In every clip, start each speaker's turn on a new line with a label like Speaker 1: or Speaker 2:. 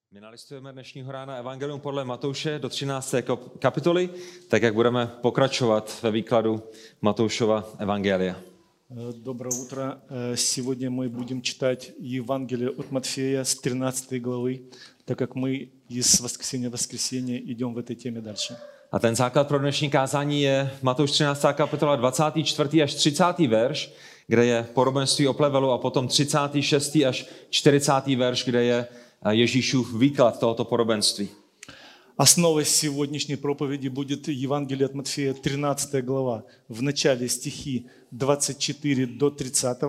Speaker 1: My nalistujeme dnešního rána evangelium podle Matouše do 13. kapitoly, tak jak budeme pokračovat ve výkladu Matoušova evangelia.
Speaker 2: Доброе утро. Сегодня мы будем читать Евангелие от Матфея с 13 главы, так как мы из воскресенья в воскресенье идем в этой теме дальше.
Speaker 1: A ten základ pro dnešní kázání je Matouš 13. kapitola 24. až 30. verš, kde je podobenství o plevelu, a potom 36. až 40. verš, kde je Ježíšův výklad tohoto podobenství.
Speaker 2: Основой сегодняшней проповеди будет Евангелие от Матфея, 13 глава. В начале стихи 24 до 30,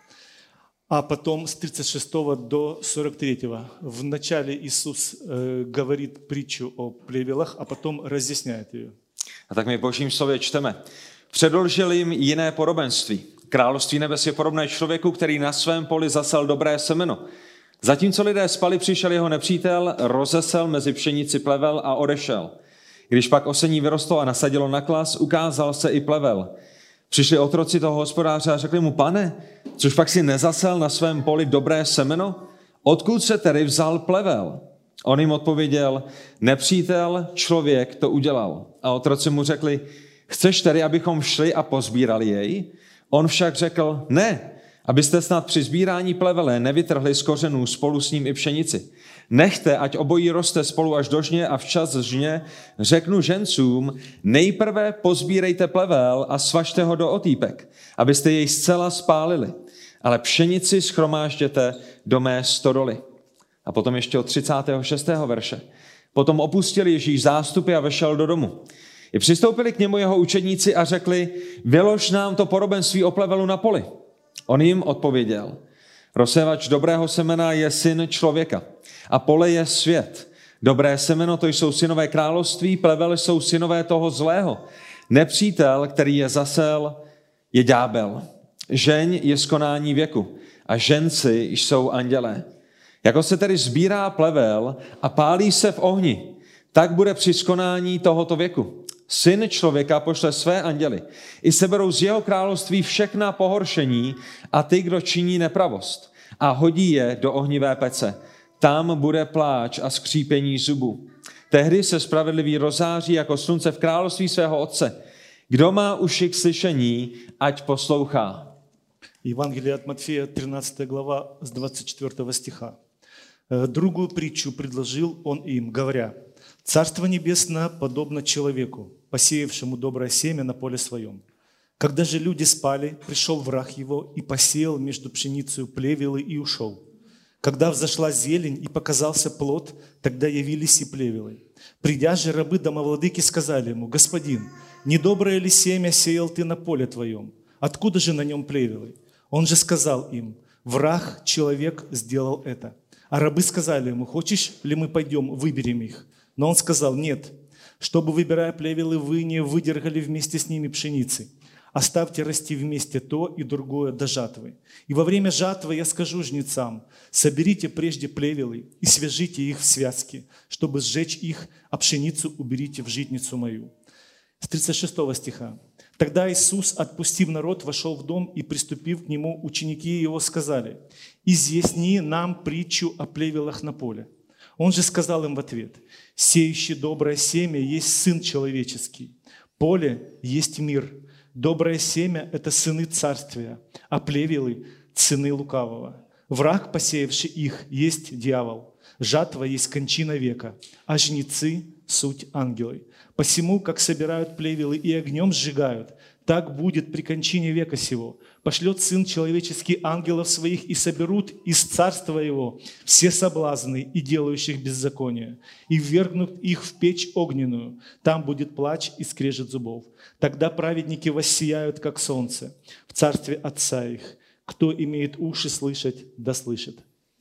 Speaker 2: а потом с 36 до 43. В начале Иисус говорит притчу о плевелах, а потом разъясняет ее.
Speaker 1: A tak my v Božím slově čteme. Předložil jim jiné podobenství. Království nebes je podobné člověku, který na svém poli zasel dobré semeno. Zatímco lidé spali, přišel jeho nepřítel, rozesel mezi pšenici plevel a odešel. Když pak osení vyrostlo a nasadilo na klas, ukázal se i plevel. Přišli otroci toho hospodáře a řekli mu: Pane, což pak si nezasel na svém poli dobré semeno? Odkud se tedy vzal plevel? On jim odpověděl: nepřítel, člověk to udělal. A otroci mu řekli: chceš tedy, abychom šli a pozbírali jej? On však řekl: ne, abyste snad při sbírání plevele nevytrhli z kořenů spolu s ním i pšenici. Nechte, ať obojí roste spolu až do žně, a včas žně řeknu žencům: nejprve pozbírejte plevel a svažte ho do otýpek, abyste jej zcela spálili, ale pšenici shromážděte do mé stodoly. A potom ještě od 36. verše. Potom opustil Ježíš zástupy a vešel do domu. I přistoupili k němu jeho učedníci a řekli: vylož nám to podobenství o plevelu na poli. On jim odpověděl: rozsévač dobrého semena je syn člověka a pole je svět. Dobré semeno, to jsou synové království, plevel jsou synové toho zlého. Nepřítel, který je zasel, je ďábel. Žeň je z konání věku a ženci jsou andělé. Jako se tedy sbírá plevel a pálí se v ohni, tak bude při skonání tohoto věku. Syn člověka pošle své anděly, i seberou z jeho království všechna pohoršení a ty, kdo činí nepravost, a hodí je do ohnivé pece. Tam bude pláč a skřípění zubů. Tehdy se spravedlivý rozáří jako slunce v království svého otce. Kdo má uši k slyšení, ať poslouchá.
Speaker 2: Евангелие от Матфея, 13 глава, с 24 стиха. Другую притчу предложил он им, говоря: «Царство небесное подобно человеку, посеявшему доброе семя на поле своем. Когда же люди спали, пришел враг его и посеял между пшеницей плевелы и ушел. Когда взошла зелень и показался плод, тогда явились и плевелы. Придя же рабы домовладыки сказали ему: господин, недоброе ли семя сеял ты на поле твоем? Откуда же на нем плевелы? Он же сказал им: враг, человек, сделал это. А рабы сказали ему: хочешь ли мы пойдем, выберем их? Но он сказал: нет, чтобы, выбирая плевелы, вы не выдергали вместе с ними пшеницы. Оставьте расти вместе то и другое до жатвы. И во время жатвы я скажу жнецам: соберите прежде плевелы и свяжите их в связки, чтобы сжечь их, а пшеницу уберите в житницу мою». С 36 стиха. Тогда Иисус, отпустив народ, вошел в дом, и, приступив к нему, ученики его сказали: изъясни нам притчу о плевелах на поле. Он же сказал им в ответ: сеющий доброе семя есть Сын Человеческий. Поле есть мир. Доброе семя – это сыны царствия, а плевелы – сыны лукавого. Враг, посеявший их, есть дьявол. Жатва есть кончина века, а жнецы – суть ангелы. Посему, как собирают плевелы и огнем сжигают, так будет при кончине века сего. Пошлет Сын Человеческий ангелов своих, и соберут из царства Его все соблазны и делающих беззаконие, и ввергнут их в печь огненную. Там будет плач и скрежет зубов. Тогда праведники воссияют, как солнце, в царстве Отца их. Кто имеет уши слышать, да слышит.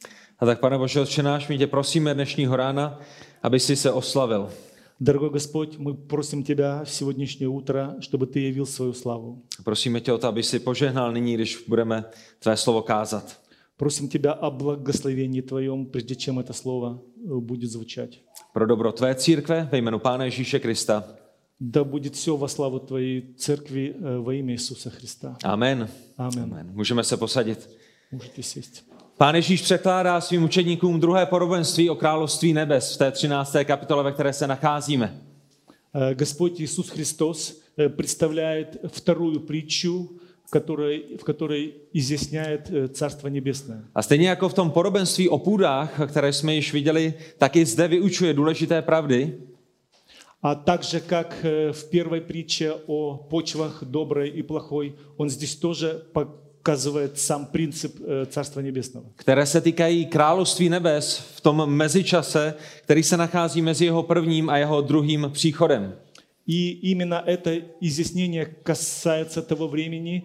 Speaker 1: A tak, Pane Bože, Otče náš, my tě prosíme dnešního rána, aby jsi se oslavil.
Speaker 2: Дорогой Господь, мы просим Тебя в сегодняшнее утро, чтобы Ты явил свою славу.
Speaker 1: Prosíme tě o to, aby si požehnal nyní, když budeme tvé slovo kázat.
Speaker 2: Просим Тебя о благословении Твоем, прежде чем это слово будет звучать.
Speaker 1: Pro dobro tvé církve ve jménu Pána Ježíše Krista.
Speaker 2: Да будет все во славу Твоей церкви во имя Иисуса Христа.
Speaker 1: Amen.
Speaker 2: Amen.
Speaker 1: Amen. Můžeme se posadit.
Speaker 2: Můžete сесть.
Speaker 1: Pán Ježíš překládá svým učedníkům druhé podobenství o království nebes v té 13. kapitole, ve které se nacházíme.
Speaker 2: Господь Иисус Христос представляет вторую притчу, в которой изъясняет Царство Небесное.
Speaker 1: A stejně jako v tom podobenství o půdách, které jsme již viděli, tak i zde vyučuje důležité pravdy.
Speaker 2: А также, как в первой притче о почвах доброй и плохой, он здесь тоже показывает сам принцип Царства Небесного.
Speaker 1: Které se týkají království nebes v tom mezičase, který se nachází mezi jeho prvním a jeho druhým příchodem.
Speaker 2: И именно это изъяснение касается того времени,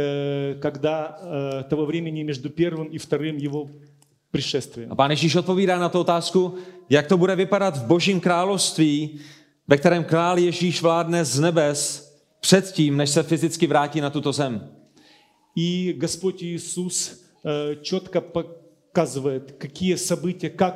Speaker 2: того времени между первым и вторым его пришествием.
Speaker 1: A Pán Ježíš odpovídá na tu otázku, jak to bude vypadat v Božím království, ve kterém král Ježíš vládne z nebes předtím, než se fyzicky vrátí na tuto zem.
Speaker 2: И Господь Иисус четко показывает, какие события, как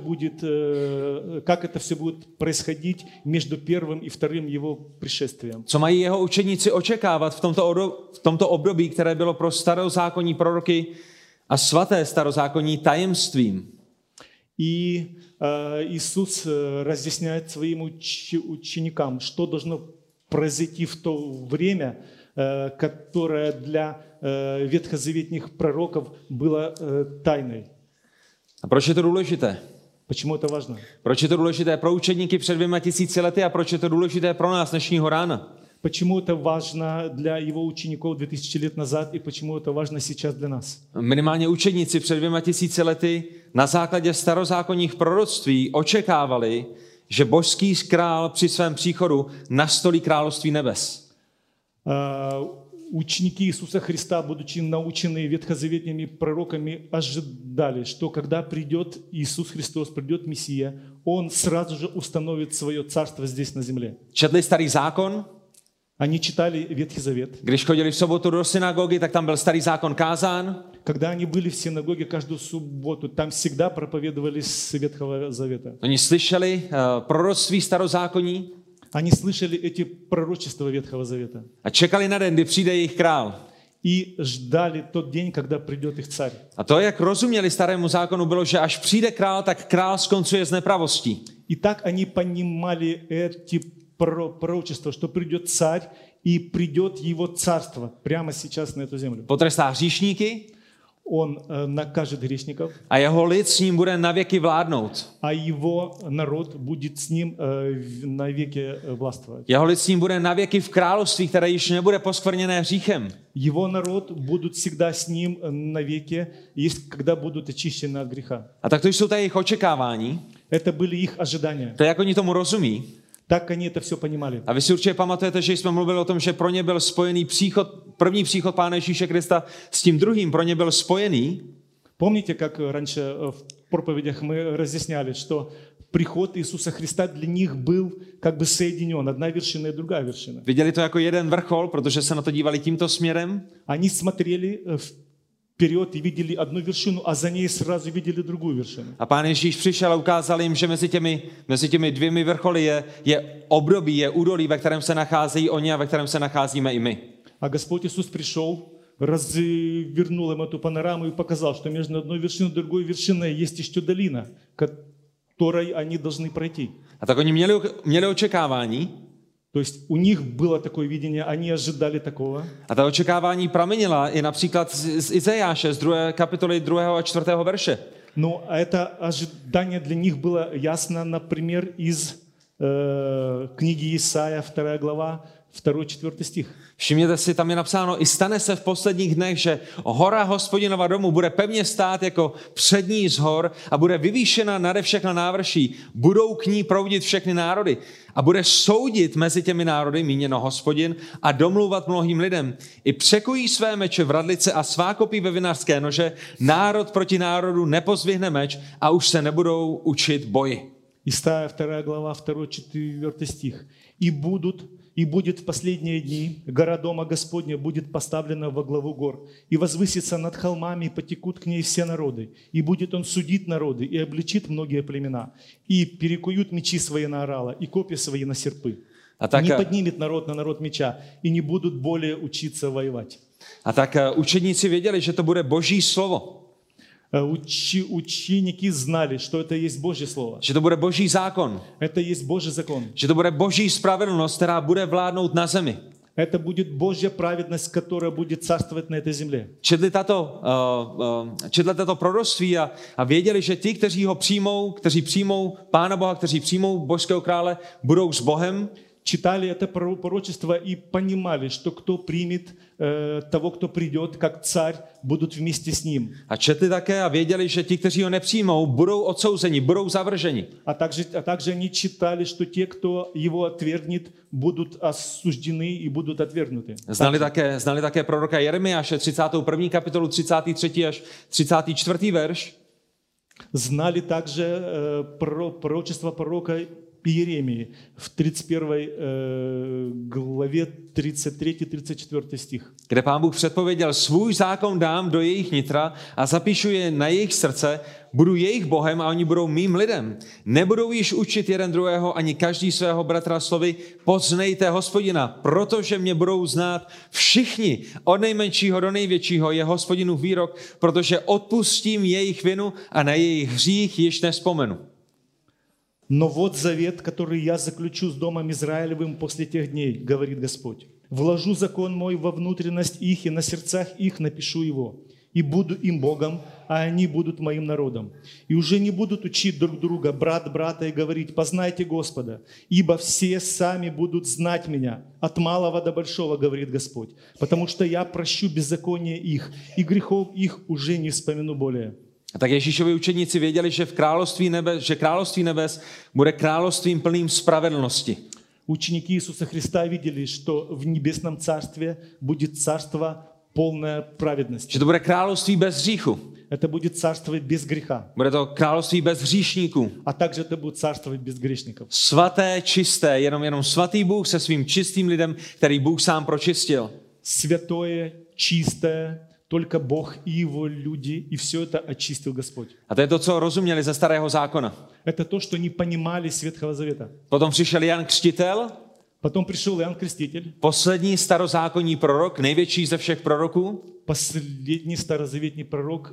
Speaker 2: это все будет происходить между первым и вторым его пришествием.
Speaker 1: Co mají jeho učeníci očekávat v tomto období, které bylo pro starozákonní proroky a svaté starozákonní tajemstvím.
Speaker 2: И Иисус разъясняет своим ученикам, что должно произойти в то время, которое для ветхозаветных пророков было тайной.
Speaker 1: A proč je to důležité?
Speaker 2: Почему это важно?
Speaker 1: Proč je to důležité pro učedníky před 2000 lety a proč je to důležité pro nás dnešního rána?
Speaker 2: Почему это важно для его учеников 2000 лет назад и почему это важно сейчас для нас?
Speaker 1: Minimálně učedníci před 2000 lety na základě starozákonních proroctví očekávali, že božský král při svém příchodu nastolí království nebes.
Speaker 2: Ученики Иисуса Христа, будучи научены ветхозаветными пророками, ожидали, что когда придет Иисус Христос, придет Мессия, Он сразу же установит свое царство здесь на земле.
Speaker 1: Četli starý zákon?
Speaker 2: Они читали Ветхий Завет.
Speaker 1: Když chodili v sobotu do synagogy, tak tam byl starý zákon kázán.
Speaker 2: Когда они были в синагоге каждую субботу, там всегда проповедовали с Ветхого Завета.
Speaker 1: Oni slyšeli proroctví starozákonní.
Speaker 2: Они слышали эти пророчества Ветхого Завета.
Speaker 1: A čekali na den, kdy přijde jejich král.
Speaker 2: И ждали тот день, когда придет их царь.
Speaker 1: A to, jak rozuměli starému zákonu, bylo, že až přijde král, tak král skoncuje s nepravostí.
Speaker 2: И так они понимали эти пророчества, что придет царь и придет его царство прямо сейчас на эту землю.
Speaker 1: Potrestá hříšníky.
Speaker 2: Он накажет грешников.
Speaker 1: A jeho lid s ním bude navěky vládnout.
Speaker 2: А его народ будет с ним навеки властвовать.
Speaker 1: Jeho lid s ním bude navěky v království, které již nebude poskvrněné hříchem.
Speaker 2: Его народ будут всегда с ним навеки, когда будут очищены от греха.
Speaker 1: A tak to jsou ta jejich očekávání.
Speaker 2: Это были их ожидания.
Speaker 1: To je, jak oni tomu rozumí.
Speaker 2: Так они это все понимали.
Speaker 1: A vy si určitě pamatujete, že jsme mluvili o tom, že pro ně byl spojený první příchod Pána Ježíše Krista s tím druhým, pro ně byl spojený.
Speaker 2: Помните, как раньше в проповедях мы разъясняли, что приход Иисуса Христа для них был как бы соединен, одна вершина и другая вершина.
Speaker 1: Viděli to jako jeden vrchol, protože se na to dívali tímto směrem.
Speaker 2: Они смотрели вперед и видели одну вершину, а за ней сразу видели другую вершину.
Speaker 1: A Pán Ježíš přišel a ukázal jim, že mezi těmi dvěmi vrcholy je období, je údolí, ve kterém se nacházejí oni a ve kterém se nacházíme i my.
Speaker 2: А Господь Иисус пришел, развернул им эту панораму и показал, что между одной вершиной и другой вершиной есть еще долина, которой они должны пройти.
Speaker 1: A tak oni měli očekávání.
Speaker 2: То есть у них было такое видение, они ожидали такого.
Speaker 1: A ta očekávání pramenila i například z Izajáše, z 2. kapitoly 2. a 4. verše.
Speaker 2: Но это ожидание для них было ясно, например, из книги Исаия, 2 глава, 2-4 stich.
Speaker 1: Všimněte si, tam je napsáno, i stane se v posledních dnech, že hora Hospodinova domu bude pevně stát jako přední z hor a bude vyvýšena nade všechna návrší. Budou k ní proudit všechny národy a bude soudit mezi těmi národy, míněno Hospodin, a domlouvat mnohým lidem. I překují své meče v radlice a svákopí ve vinařské nože. Národ proti národu nepozvihne meč a už se nebudou učit boji.
Speaker 2: Исаия 2 глава, 2-4 стих. И будет в последние дни гора Дома Господня будет поставлена во главу гор, и возвысится над холмами, и потекут к ней все народы. И будет он судить народы, и обличит многие племена, и перекуют мечи свои на орала, и копья свои на серпы. Не поднимет народ на народ меча, и не будут более учиться воевать.
Speaker 1: A tak učedníci věděli, že to bude Boží slovo.
Speaker 2: Ученики знали, что это есть Божье Слово.
Speaker 1: že to bude boží zákon,
Speaker 2: Это есть Божий закон.
Speaker 1: že to bude boží spravedlnost, která bude vládnout na zemi.
Speaker 2: Это будет Божья праведность, которая будет царствовать на этой земле.
Speaker 1: Četli tato proroctví a věděli, že ti, kteří přijmou Pána Boha, kteří přijmou božského krále, budou s Bohem.
Speaker 2: Читали это пророчество и понимали, что кто примет того, кто придет, как царь, будут вместе с ним.
Speaker 1: A četli také a věděli, že ti, kteří ho nepřijmou, budou odsouzeni, budou zavrženi.
Speaker 2: А также они читали, что те, кто его отвергнет, будут осуждены и будут отвергнуты.
Speaker 1: Znali také proroka Jeremiáše, 31. kapitolu, 33. až 34. verš.
Speaker 2: Знали также пророчество пророка Иеремии в 31 главе 33-34 стих.
Speaker 1: Kde Pán Bůh předpověděl, svůj zákon dám do jejich nitra a zapíšu je na jejich srdce, budu jejich Bohem a oni budou mým lidem. Nebudou již učit jeden druhého ani každý svého bratra slovy, poznejte Hospodina, protože mě budou znát všichni, od nejmenšího do největšího je Hospodinův výrok, protože odpustím jejich vinu a na jejich hřích již nevzpomenu.
Speaker 2: Но вот завет, который я заключу с домом Израилевым после тех дней, говорит Господь. Вложу закон мой во внутренность их, и на сердцах их напишу его. И буду им Богом, а они будут моим народом. И уже не будут учить друг друга, брат брата, и говорить, познайте Господа, ибо все сами будут знать меня, от малого до большого, говорит Господь. Потому что я прощу беззаконие их, и грехов их уже не вспомину более.
Speaker 1: A tak Ježíšovi učedníci věděli, že království nebes bude královstvím plným spravedlnosti.
Speaker 2: Ученики Иисуса Христа видели, что в небесном царстве будет царство полное праведности.
Speaker 1: Že to bude království bez hříchu.
Speaker 2: Это будет царство без греха.
Speaker 1: Bude to království bez hříšníků.
Speaker 2: А также это будет царство без грешников.
Speaker 1: Svaté, čisté, jenom svatý Bůh se svým čistým lidem, který Bůh sám pročistil.
Speaker 2: Святое, чистое, только Бог и Его люди, и все это очистил Господь.
Speaker 1: A to je to, co rozuměli ze starého zákona.
Speaker 2: Это то, что не понимали с Ветхого Завета.
Speaker 1: Potom přišel Jan Křtitel,
Speaker 2: Потом пришел Иоанн Креститель,
Speaker 1: poslední starozákonní prorok, největší ze všech proroků.
Speaker 2: последний старозаветний пророк,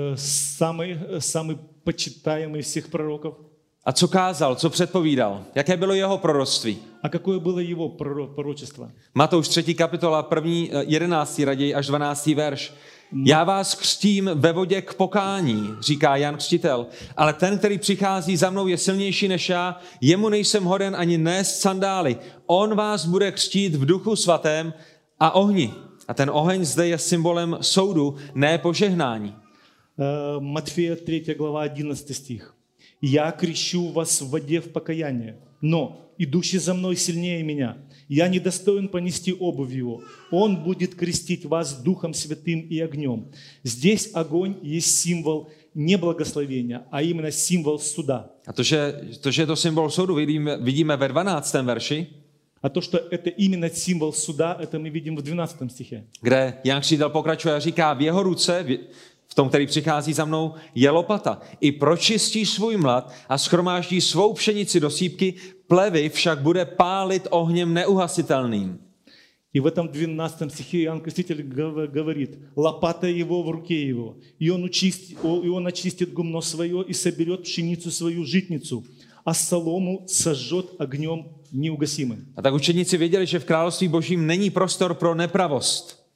Speaker 2: самый почитаемый всех пророков.
Speaker 1: A co kázal, co předpovídal? Jaké bylo jeho proroctví?
Speaker 2: А какое было его пророчество?
Speaker 1: Matouš 3. kapitola, 11. raději až 12. verš. Já vás křtím ve vodě k pokání, říká Jan Křtitel, ale ten, který přichází za mnou, je silnější než já, jemu nejsem hoden ani nést sandály. On vás bude křtít v duchu svatém a ohni. A ten oheň zde je symbolem soudu, ne požehnání.
Speaker 2: Матфея 3 глава 11 стих. «Я крещу вас в воде в покаяние, но идущий за мной сильнее меня. Я недостоин понести обувь его. Он будет крестить вас Духом Святым и огнем». Здесь огонь есть символ не благословения, а именно символ суда.
Speaker 1: A to, že je to symbol soudu, vidíme ve 12. verši,
Speaker 2: А то, что это именно символ суда, это мы видим в 12 стихе.
Speaker 1: kde Jan Křtitel pokračuje a říká, v jeho ruce, v tom, který přichází za mnou, je lopata. I pročistí svůj mlad a shromáždí svou pšenici do sýpky, plevy však bude pálit ohněm neuhasitelným.
Speaker 2: И в этом 12 стихе Иоанн Креститель говорит, лопата его в руке его, и он очистит гумно свое и соберет пшеницу свою житницу, а солому сожжет огнем неугасимым.
Speaker 1: A tak učedníci věděli, že v království božím není prostor pro nepravost.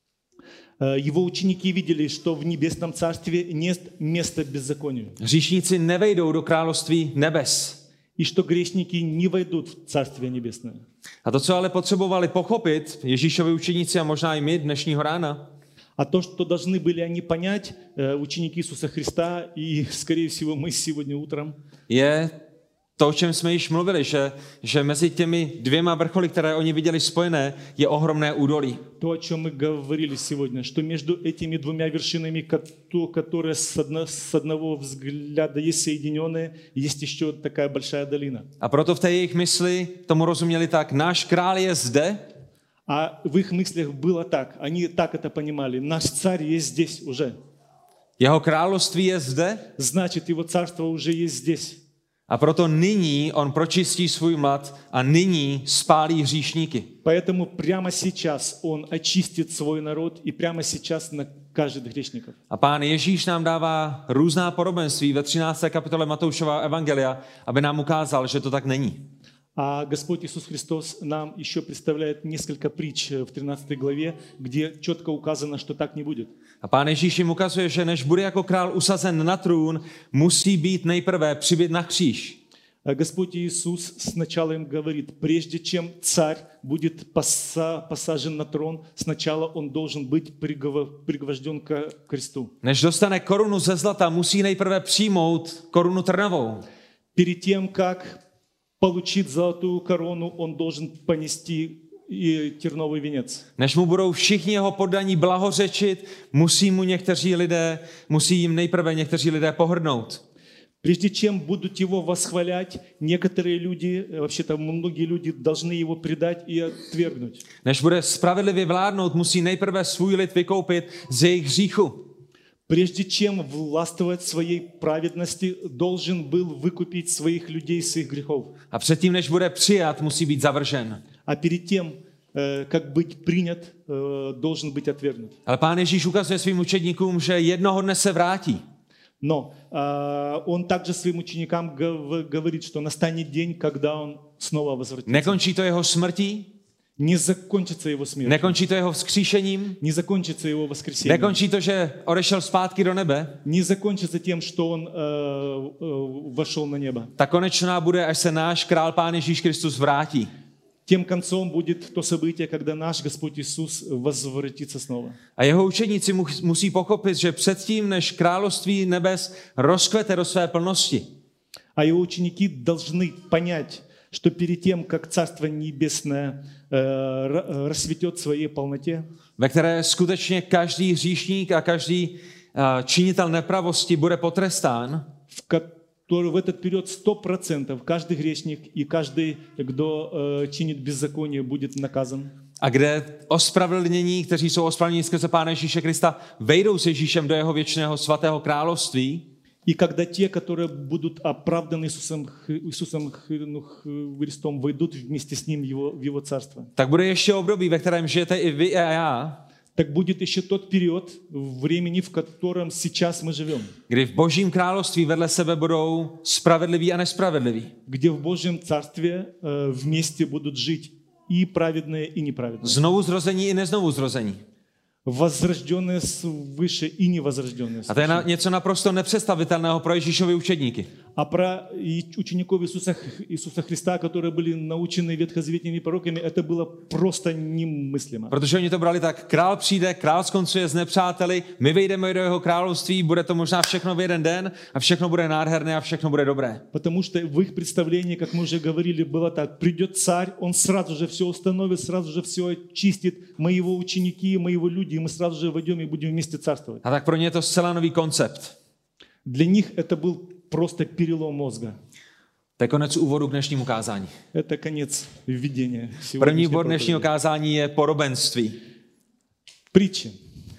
Speaker 2: Его ученики видели, что в небесном царстве нет места беззаконию.
Speaker 1: Hříšníci nevejdou do království nebes.
Speaker 2: И что грешники не войдут в Царствие Небесное.
Speaker 1: A to, co ale potřebovali pochopit Ježíšovi učeníci a možná i my dnešního rána,
Speaker 2: А то, что должны были они понять, ученики Иисуса Христа и, скорее всего, мы сегодня утром,
Speaker 1: je to, o čem jsme již mluvili, že mezi těmi dvěma vrcholy, které oni viděli spojené, je ohromné údolí.
Speaker 2: То, о чем мы говорили сегодня, что между этими двумя вершинами, которые с одного взгляда есть соединенные, есть еще такая большая долина.
Speaker 1: A proto v té jejich mysli tomu rozuměli tak, náš král je zde.
Speaker 2: А в их мыслях было так, они так это понимали, наш царь есть здесь уже.
Speaker 1: Jeho království je zde.
Speaker 2: Значит, его царство уже есть здесь.
Speaker 1: A proto nyní on pročistí svůj mlad a nyní spálí hříšníky.
Speaker 2: Поэтому прямо сейчас он очистит свой народ и прямо сейчас каждый из грешников.
Speaker 1: A Pán Ježíš nám dává různá podobenství ve 13. kapitole Matoušova evangelia, aby nám ukázal, že to tak není.
Speaker 2: А Господь Иисус Христос нам еще представляет несколько притч в 13 главе, где четко указано, что так не будет.
Speaker 1: A Pán Ježíš jim ukazuje, že než bude jako král usazen na trůn, musí být nejprve přibit na kříž.
Speaker 2: А Господь Иисус сначала им говорит, прежде чем царь будет посажен на трон, сначала он должен быть пригвожден к кресту.
Speaker 1: Než dostane korunu ze zlata, musí nejprve přijmout korunu trnovou.
Speaker 2: Перед тем, как получить золотую корону, он должен понести и терновый венец.
Speaker 1: Než mu budou všichni jeho poddaní blahořečit, musí jim nejprve někteří lidé pohrdnout.
Speaker 2: Прежде чем будут его восхвалять, некоторые люди, вообще-то многие люди должны его предать и отвергнуть.
Speaker 1: Než bude spravedlivě vládnout, musí nejprve svůj lid vykoupit z jejich hříchu.
Speaker 2: Прежде чем властвовать своей праведности, должен был выкупить своих людей с их грехов.
Speaker 1: A předtím, než bude přijat, musí být zavržen.
Speaker 2: А перед тем, как быть принят, должен быть отвергнут.
Speaker 1: Ale Pán Ježíš ukazuje svým učedníkům, že jednoho dne se vrátí.
Speaker 2: Но он также своим ученикам говорит, что настанет день, когда он снова возвратится.
Speaker 1: Nekončí to jeho smrtí,
Speaker 2: Не закончится его смерть.
Speaker 1: nekončí to jeho vzkříšením,
Speaker 2: Не закончится его воскресением.
Speaker 1: nekončí to, že odešel zpátky do nebe.
Speaker 2: Не закончится тем, что он вошел на небо.
Speaker 1: Ta konečná bude, až se náš král Pán Ježíš Kristus vrátí.
Speaker 2: Тем концом будет то событие, когда наш Господь Иисус возвратится снова.
Speaker 1: A jeho učeníci musí pochopit, že předtím, než království nebes rozkvete do své plnosti,
Speaker 2: А его ученики должны понять, что перед тем, как Царство Небесное расцветет в своей полноте,
Speaker 1: ve které skutečně každý hříšník a každý činitel nepravosti bude potrestán,
Speaker 2: в этот период 100% каждый грешник и каждый, кто чинит беззаконие, будет наказан.
Speaker 1: a kde ospravedlnění, kteří jsou ospravedlněni skrze Pána Ježíše Krista, vejdou s Ježíšem do jeho věčného svatého království.
Speaker 2: И когда те, которые будут оправданы Иисусом Христом, войдут вместе с Ним в Его Царство.
Speaker 1: Tak bude ještě období, ve kterém žijete i vy a já,
Speaker 2: Так будет еще тот период времени, в котором сейчас мы живем.
Speaker 1: kdy v Božím království vedle sebe budou spravedliví a nespravedliví.
Speaker 2: Где в Божьем Царстве вместе будут жить и праведные, и неправедные.
Speaker 1: Znovu zrození i neznovu zrození.
Speaker 2: Возрожденные свыше и невозрожденные
Speaker 1: A to je
Speaker 2: свыше.
Speaker 1: něco naprosto nepředstavitelného pro Ježíšovy učedníky.
Speaker 2: А про учеников Иисуса Христа, которые были научены ветхозаветными пророками, это было просто немыслимо.
Speaker 1: Protože oni to brali tak, král přijde, král skoncuje s nepřáteli, my vejdeme do jeho království, bude to možná všechno v jeden den a všechno bude nádherné a všechno bude dobré.
Speaker 2: Потому что в их представлении, как мы уже говорили, было так: придет царь, он сразу же все установит, сразу же все очистит, мы его ученики, мы его люди, и мы сразу же войдем и будем вместе царствовать.
Speaker 1: A tak pro ně je to zcela nový koncept.
Speaker 2: Для них это был просто перелом мозга.
Speaker 1: To je konec úvodu k dnešnímu kázání.
Speaker 2: Это конец введения.
Speaker 1: První bod dnešního kázání je podobenství.
Speaker 2: Притчи.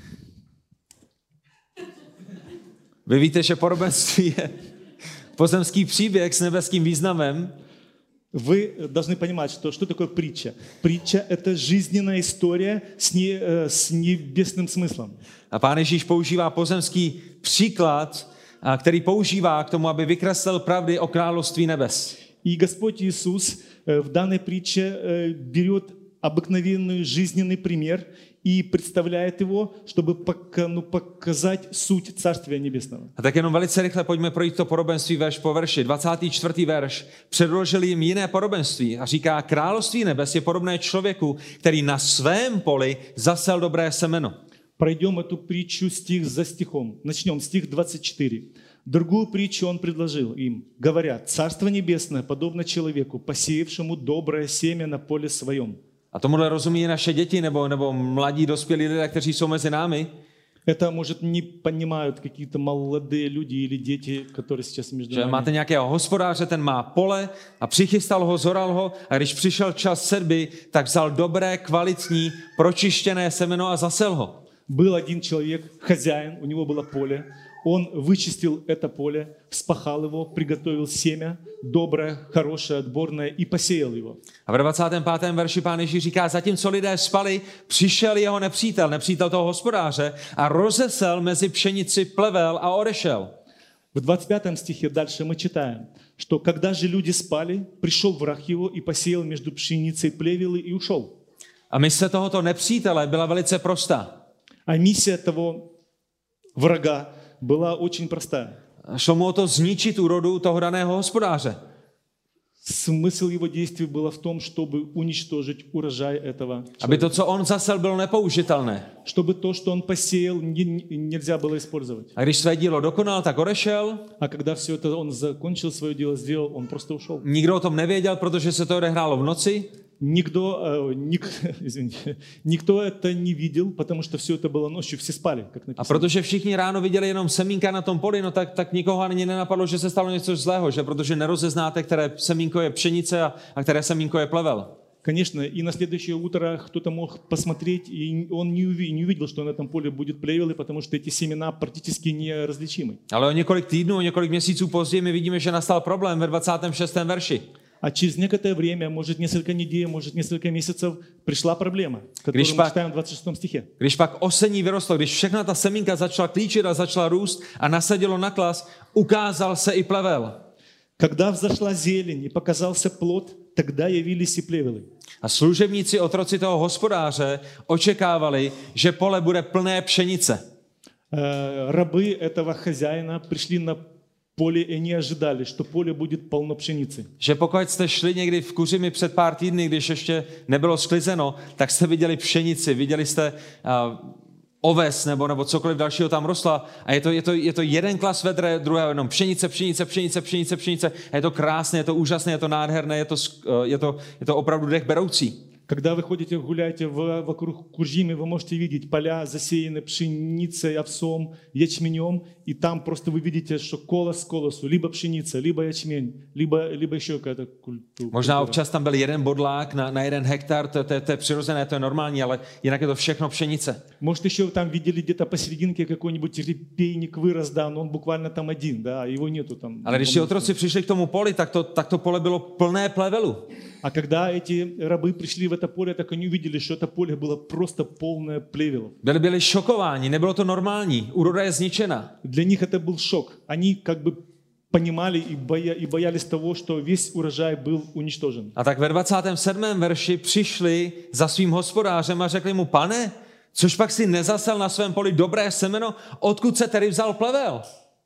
Speaker 1: Vy víte, že podobenství je pozemský příběh s nebeským významem.
Speaker 2: Вы должны понимать, что такое притча. Притча – это жизненная история с небесным смыслом.
Speaker 1: A Pán Ježíš používá pozemský příklad, který používá k tomu, aby vykreslil pravdy o království nebes.
Speaker 2: И Господь Иисус в данной притче берет обыкновенный жизненный пример и представляет его, чтобы показать суть Царствия Небесного.
Speaker 1: A tak jenom velice rychle pojďme projít to podobenství verš po verši. 24. verš. Předložil jim jiné podobenství a říká, království nebes je podobné člověku, který na svém poli zasel dobré semeno.
Speaker 2: Пройдем эту притчу стих за стихом. Начнем, стих 24. Другую притчу он предложил им, говоря: «Царство небесное подобно человеку, посеявшему доброе семя на поле своем».
Speaker 1: A tomuhle rozumí naše děti nebo mladí dospělí lidé, kteří jsou mezi námi.
Speaker 2: Это, может, не понимают какие-то молодые люди или дети, которые сейчас между
Speaker 1: Že
Speaker 2: нами.
Speaker 1: máte nějakého hospodáře, ten má pole a přichystal ho, zoral ho a když přišel čas setby, tak vzal dobré, kvalitní, pročištěné semeno a zasel ho.
Speaker 2: Был один человек, хозяин, у него было поле, Он вычистил это поле, вспахал его, приготовил семя, доброе, хорошее, отборное, и посеял его.
Speaker 1: A v 25. verši Pán Ježíš říká, zatímco lidé spali, přišel jeho nepřítel toho hospodáře a rozesel mezi pšenici plevel a odešel.
Speaker 2: В 25 стихе дальше мы читаем, что когда же люди спали, пришел враг его и посеял между пшеницей плевелы и ушел.
Speaker 1: A mise tohoto nepřítele byla velice prostá.
Speaker 2: А миссия того врага была очень простая.
Speaker 1: Šlo mu o to zničit úrodu toho daného hospodáře.
Speaker 2: Смысл его действий было в том, чтобы уничтожить урожай этого
Speaker 1: Aby
Speaker 2: человека.
Speaker 1: to, co on zasel, bylo nepoužitelné.
Speaker 2: Чтобы то, что он посеял, нельзя было использовать.
Speaker 1: A když své dílo dokonal, tak odešel.
Speaker 2: А когда все это он закончил, свое дело сделал, он просто ушел.
Speaker 1: Nikdo o tom nevěděl, protože se to odehrálo v noci.
Speaker 2: Никто это не видел, потому что все это было ночью, все спали, как
Speaker 1: A
Speaker 2: написано.
Speaker 1: protože všichni ráno viděli jenom semínka na tom poli, no tak nikoho ani nenapadlo, že se stalo něco zlého, že protože nerozeznáte, které semínko je pšenice a které semínko je plevel.
Speaker 2: Конечно, и на следующее утро кто-то мог посмотреть, и он не увидел, что на этом поле будет плевелы, потому что эти семена практически неразличимы.
Speaker 1: Ale o několik týdnů, o několik měsíců později my vidíme, že nastal problém ve 26. verši.
Speaker 2: А через некоторое время, может несколько недель, может несколько месяцев, пришла проблема, которую мы читаем в 26 стихе.
Speaker 1: Když pak osení vyrostlo, když všechna ta semínka začala klíčit a začala růst a nasadilo na klas, ukázal se i plevel.
Speaker 2: Когда взошла зелень и показался плод, тогда явились и плевелы.
Speaker 1: A služebníci, otroci toho hospodáře očekávali, že pole bude plné pšenice.
Speaker 2: Рабы этого хозяина пришли на поле и не ожидали, что поле будет полно пшеницы.
Speaker 1: Že pokud jste šli někdy v Kuřimi před pár týdny, když ještě nebylo sklizeno, tak jste viděli pšenici, viděli jste oves nebo cokoliv dalšího tam rostla a je to jeden klas vedre, druhého jenom pšenice. A je to krásné, je to úžasné, je to nádherné, je to opravdu dech beroucí.
Speaker 2: Когда вы ходите, гуляете вокруг Куржими, вы можете видеть поля засеяны пшеницей, овсом, ячменем, и там просто вы видите, что колос к колосу, либо пшеница, либо ячмень, lибо еще какая-то культура.
Speaker 1: Možná občas tam byl jeden bodlák na 1 hektar, to je přirozené, to je normální, ale jinak je to všechno pšenice.
Speaker 2: Может, еще там видели где-то посерединке какой-нибудь репейник вырос, да, но он буквально там один, да, его нету там.
Speaker 1: Ale když ti otroci přišli k tomu poli, tak to pole bylo plné plevelu.
Speaker 2: А когда эти рабы пришли в это поле, так они увидели, что это поле было просто полное плевелов.
Speaker 1: Byli šokováni, nebylo to normální, úroda je zničena.
Speaker 2: Для них это был шок. Они как бы понимали и боялись того, что весь урожай был уничтожен.
Speaker 1: A tak ve 27. verši přišli za svým hospodářem a řekli mu, pane, což pak si nezasel na svém poli dobré semeno, odkud se tedy vzal plevel?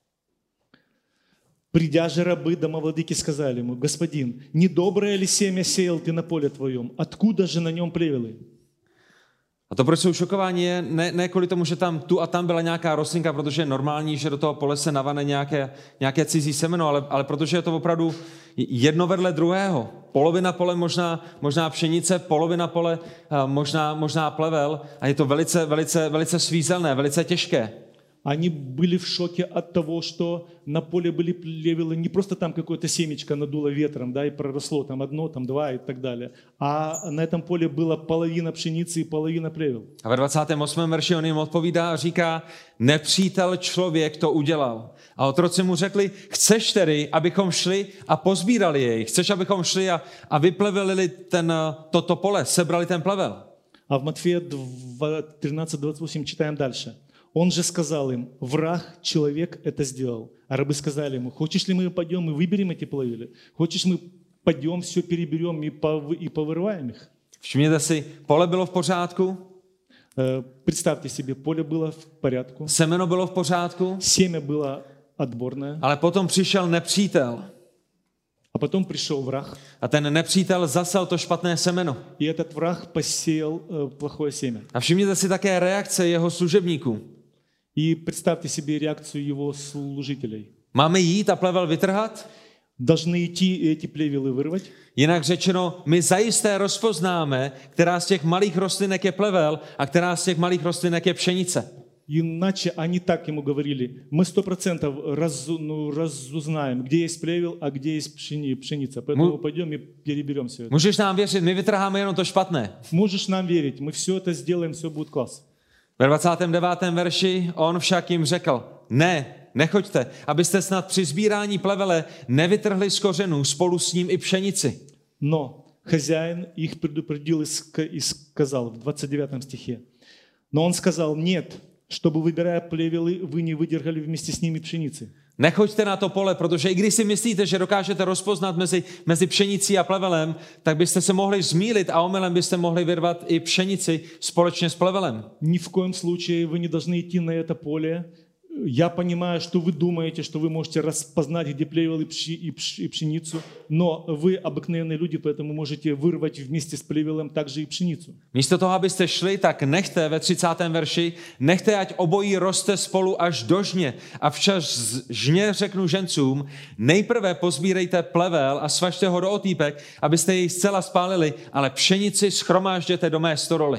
Speaker 2: Придя же рабы домовладыки сказали ему: господин, недоброе ли семя сеял ты на поле твоем? Откуда же на нем плевелы?
Speaker 1: A to, proč jsou šokováni, je ne kvůli tomu, že tam tu a tam byla nějaká rostlinka, protože je normální, že do toho pole se navane nějaké cizí semeno, ale protože je to opravdu jedno vedle druhého. Polovina pole možná pšenice, polovina pole možná plevel a je to velice svízelné, velice těžké.
Speaker 2: Они были в шоке от того, что на поле были плевелы, не просто там какое-то семечко надуло ветром, да, и проросло там одно, там два и так далее, а на этом поле была половина пшеницы и половина плевел.
Speaker 1: A ve 28. verši on jim odpovídá a říká, nepřítel člověk to udělal. A otroci mu řekli, chceš tedy, abychom šli a pozbírali jej? Chceš, abychom šli a vyplevelili to pole, sebrali ten plevel?
Speaker 2: А в Матфея 13:28 читаем дальше. Он же сказал им: враг, человек это сделал. А рабы сказали ему: хочешь ли мы пойдем и выберем эти плевели? Хочешь мы пойдем, все переберем и повырываем их?
Speaker 1: Všimněte si, pole bylo v pořádku.
Speaker 2: Представьте себе, поле было в порядku.
Speaker 1: Semeno bylo v pořádku.
Speaker 2: Семя было отборное.
Speaker 1: Ale potom přišel nepřítel.
Speaker 2: А потом пришел враг.
Speaker 1: A ten nepřítel zasel to špatné semeno.
Speaker 2: И этот враг посеял плохое семя.
Speaker 1: A všimněte si také reakce jeho služebníků.
Speaker 2: И представьте себе реакцию его служителей.
Speaker 1: Máme jít a plevel vytrhat?
Speaker 2: Должны идти эти плевелы вырвать.
Speaker 1: Jinak řečeno, my zajisté rozpoznáme, která z těch malých rostlinek je plevel a která z těch malých rostlinek je pšenice.
Speaker 2: Иначе они так ему говорили: мы 100% разузнаем, где есть плевел, а где есть пшеница. Поэтому пойдем и переберем все это.
Speaker 1: Můžeš nám věřit, my vytrháme jenom to špatné.
Speaker 2: Можешь нам верить, мы все это сделаем, все будет класс.
Speaker 1: Ve 29. verši on však jim řekl, ne, nechoďte, abyste snad při sbírání plevele nevytrhli z kořenů spolu s ním i pšenici.
Speaker 2: Но хозяин их предупредил и сказал в 29 стихе. Но он сказал, нет, чтобы, выбирая плевелы, вы не выдержали вместе с ними пшеницы.
Speaker 1: Nechoďte na to pole, protože i když si myslíte, že dokážete rozpoznat mezi pšenicí a plevelem, tak byste se mohli zmýlit a omylem byste mohli vyrvat i pšenici společně s plevelem.
Speaker 2: Ни в коем случае вы не должны идти на это поле. Я понимаю, что вы думаете, что вы можете распознать, где плевел и пшеницу, но вы обыкновенные люди, поэтому можете вырвать вместе с плевелом также и пшеницу.
Speaker 1: Místo toho, abyste šli, tak nechte ve 30. verši, nechte, ať obojí roste spolu až do žně. A včas žně řeknu žencům, nejprve pozbírejte plevel a svažte ho do otýpek, abyste jej zcela spálili, ale pšenici shromážděte do mé stodoly.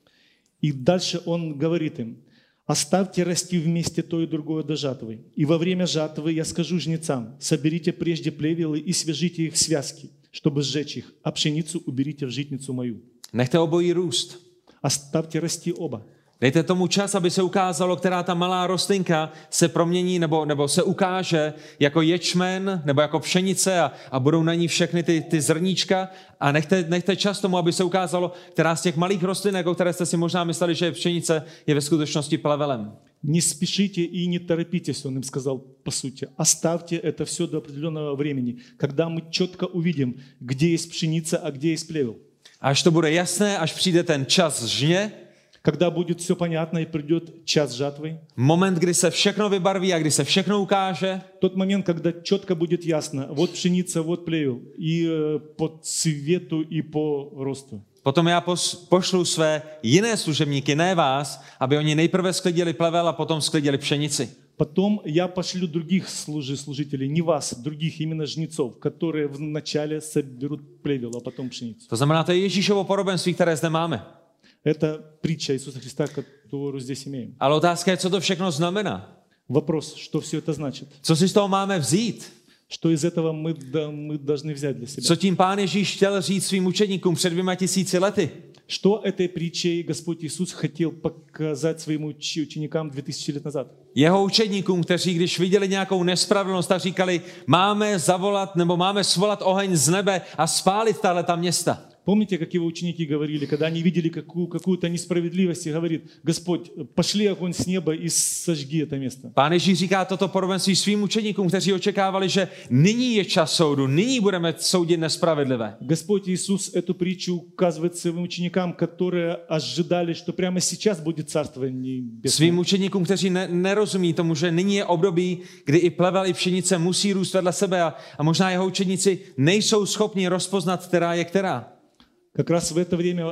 Speaker 2: И дальше он говорит им, оставьте расти вместе то и другое до жатвы. И во время жатвы я скажу жнецам, соберите прежде плевелы и свяжите их в связки, чтобы сжечь их, а пшеницу уберите в житницу мою.
Speaker 1: Nechte obojí růst.
Speaker 2: Оставьте расти оба.
Speaker 1: Dejte tomu čas, aby se ukázalo, která ta malá rostlinka se promění nebo se ukáže jako ječmen nebo jako pšenice a budou na ní všechny ty zrníčka a nechte čas tomu, aby se ukázalo, která z těch malých rostlinek, o které jste si možná mysleli, že je pšenice, je ve skutečnosti plevelem.
Speaker 2: Не спешите и не торопитесь, он им сказал по сути. Оставьте это все до определенного времени, когда мы четко увидим, где есть пшеница, а где есть плевел.
Speaker 1: Až to bude jasné, až přijde ten čas žně,
Speaker 2: Когда будет все понятно и придет час жатвы,
Speaker 1: moment, kdy se všechno vybarví a kdy se všechno ukáže,
Speaker 2: тот момент, когда четко будет ясно, вот пшеница, вот плевел, и по цвету, и по росту.
Speaker 1: potom já pošlu své jiné služebníky, ne vás, aby oni nejprve sklidili plevel a potom sklidili pšenici.
Speaker 2: Потом я пошлю других служителей, не вас, других именно жнецов, которые вначале соберут плевел, а потом пшеницу.
Speaker 1: To znamená, to je Ježíšovo podobenství, které zde máme.
Speaker 2: Это притча Иисуса Христа, которую здесь имеем.
Speaker 1: Ale otázka je, co to všechno znamená.
Speaker 2: Вопрос, что все это значит?
Speaker 1: Co si z toho máme vzít?
Speaker 2: Что из этого мы должны взять для себя?
Speaker 1: Co tím Pán Ježíš chtěl říct svým učedníkům před 2000 lety?
Speaker 2: Что этой притчей Господь Иисус хотел показать своим ученикам 2000 лет назад?
Speaker 1: Jeho učedníkům, kteří když viděli nějakou nespravedlnost, tak říkali, máme zavolat nebo máme svolat oheň z nebe a spálit tahleta města.
Speaker 2: Помните, как его ученики говорили, когда они видели какую-то несправедливость, и говорит, Господь, пошли огонь с неба и сожги это место.
Speaker 1: Pán Ježíš říká toto podobenství svým učedníkům, kteří očekávali, že nyní je čas soudu, nyní budeme soudit nespravedlivé.
Speaker 2: Господь Иисус эту притчу указывает своим ученикам, которые ожидали, что прямо сейчас будет Царство Небесное.
Speaker 1: Svým učedníkům, kteří nerozumí tomu, že nyní je období, kdy i plevel, i pšenice musí růst vedle sebe a možná jeho učedníci nejsou schopni rozpoznat, která je která.
Speaker 2: Как раз в это время